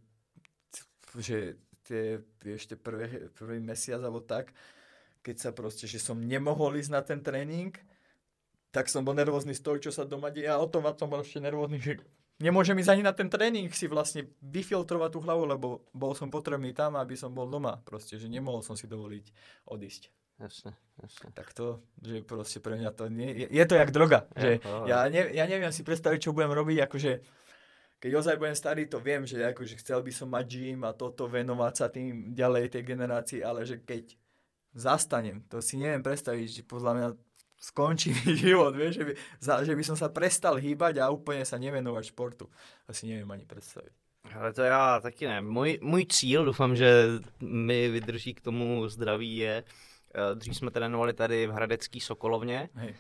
že tie, vieš, tie prvé, prvý mesiac alebo tak, keď sa proste, že som nemohol ísť na ten tréning, tak som bol nervózny z toho, čo sa doma deje a o tom a tom bol ešte nervózny, že nemôžem ísť ani na ten tréning si vlastne vyfiltrovať tú hlavu, lebo bol som potrebný tam, aby som bol doma. Proste, že nemohol som si dovoliť odísť. Jasne, jasne. Tak to, že proste pre mňa to nie, je, je to jak droga. Je, že ja, ne, ja neviem si predstaviť, čo budem robiť, akože keď ozaj budem starý, to viem, že akože chcel by som mať gym a toto, venovať sa tým ďalej tej generácii, ale že keď zastanem, to si neviem predstaviť, že podľa mňa skončí život, vieš, že by, za, že by som sa prestal hýbať a úplne sa nevenovať športu. Asi neviem ani predstaviť. Ale to já taky ne. Můj, můj cíl, doufám, že mi vydrží k tomu zdraví, je, dřív jsme trénovali tady v hradecký Sokolovně. Hej.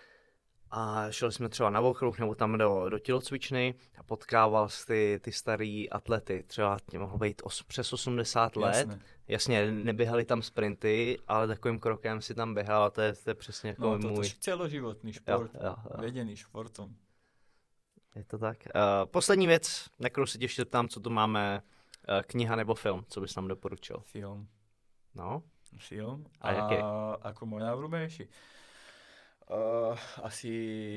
A šli jsme třeba na okruh nebo tam do, do tělocvičny a potkával jsi ty, ty starý atlety. Třeba tě mohlo být os, přes osmdesát let. Jasne. Jasně, neběhali tam sprinty, ale takovým krokem si tam běhal a to je, to je přesně jako no, to, můj... No, to je celoživotný šport, jo, jo, jo. Vedený športom. Je to tak. Uh, poslední věc, na kterou se tě ještě ptám, co tu máme, uh, kniha nebo film, co bys nám doporučil? Film. No? Film. A, a jaký? Ako môj najobľúbenejší? Uh, asi,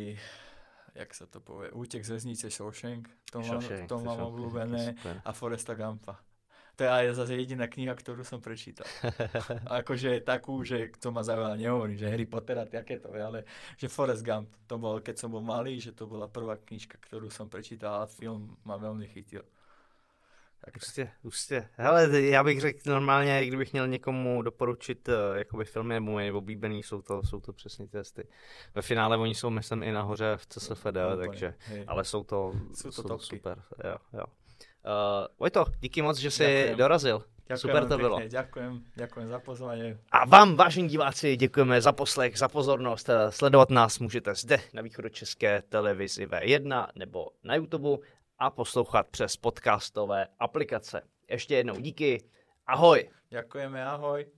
jak sa to povie, Útek z väznice Shawshank, to mám, to mám obľúbené, a Foresta Gumpa. To je aj zase jediná kniha, ktorú som prečítal. Akože takú, že to ma zaujala, nehovorím, že Harry Potter a takéto, ale že Forrest Gump, to bol, keď som bol malý, že to bola prvá knižka, ktorú som prečítal a film ma veľmi chytil. Ustě, ustě. Hele, já bych řekl normálně, kdybych měl někomu doporučit jakoby filmy nebo moje oblíbený, jsou to, jsou to přesně testy. Ve finále oni jsou, myslím, i nahoře v C S F D, no, takže, hej. Ale jsou to, jsou to, jsou to super. Jo, jo. Uh, Vojto, díky moc, že jsi ďakujem. dorazil. Ďakujem, super to pekne, bylo. Ďakujem, ďakujem za pozvanie. A vám, vážení diváci, děkujeme za poslech, za pozornost. Sledovat nás můžete zde na východočeské televizi V jedna nebo na YouTube a poslouchat přes podcastové aplikace. Ještě jednou díky. Ahoj. Ďakujeme, ahoj.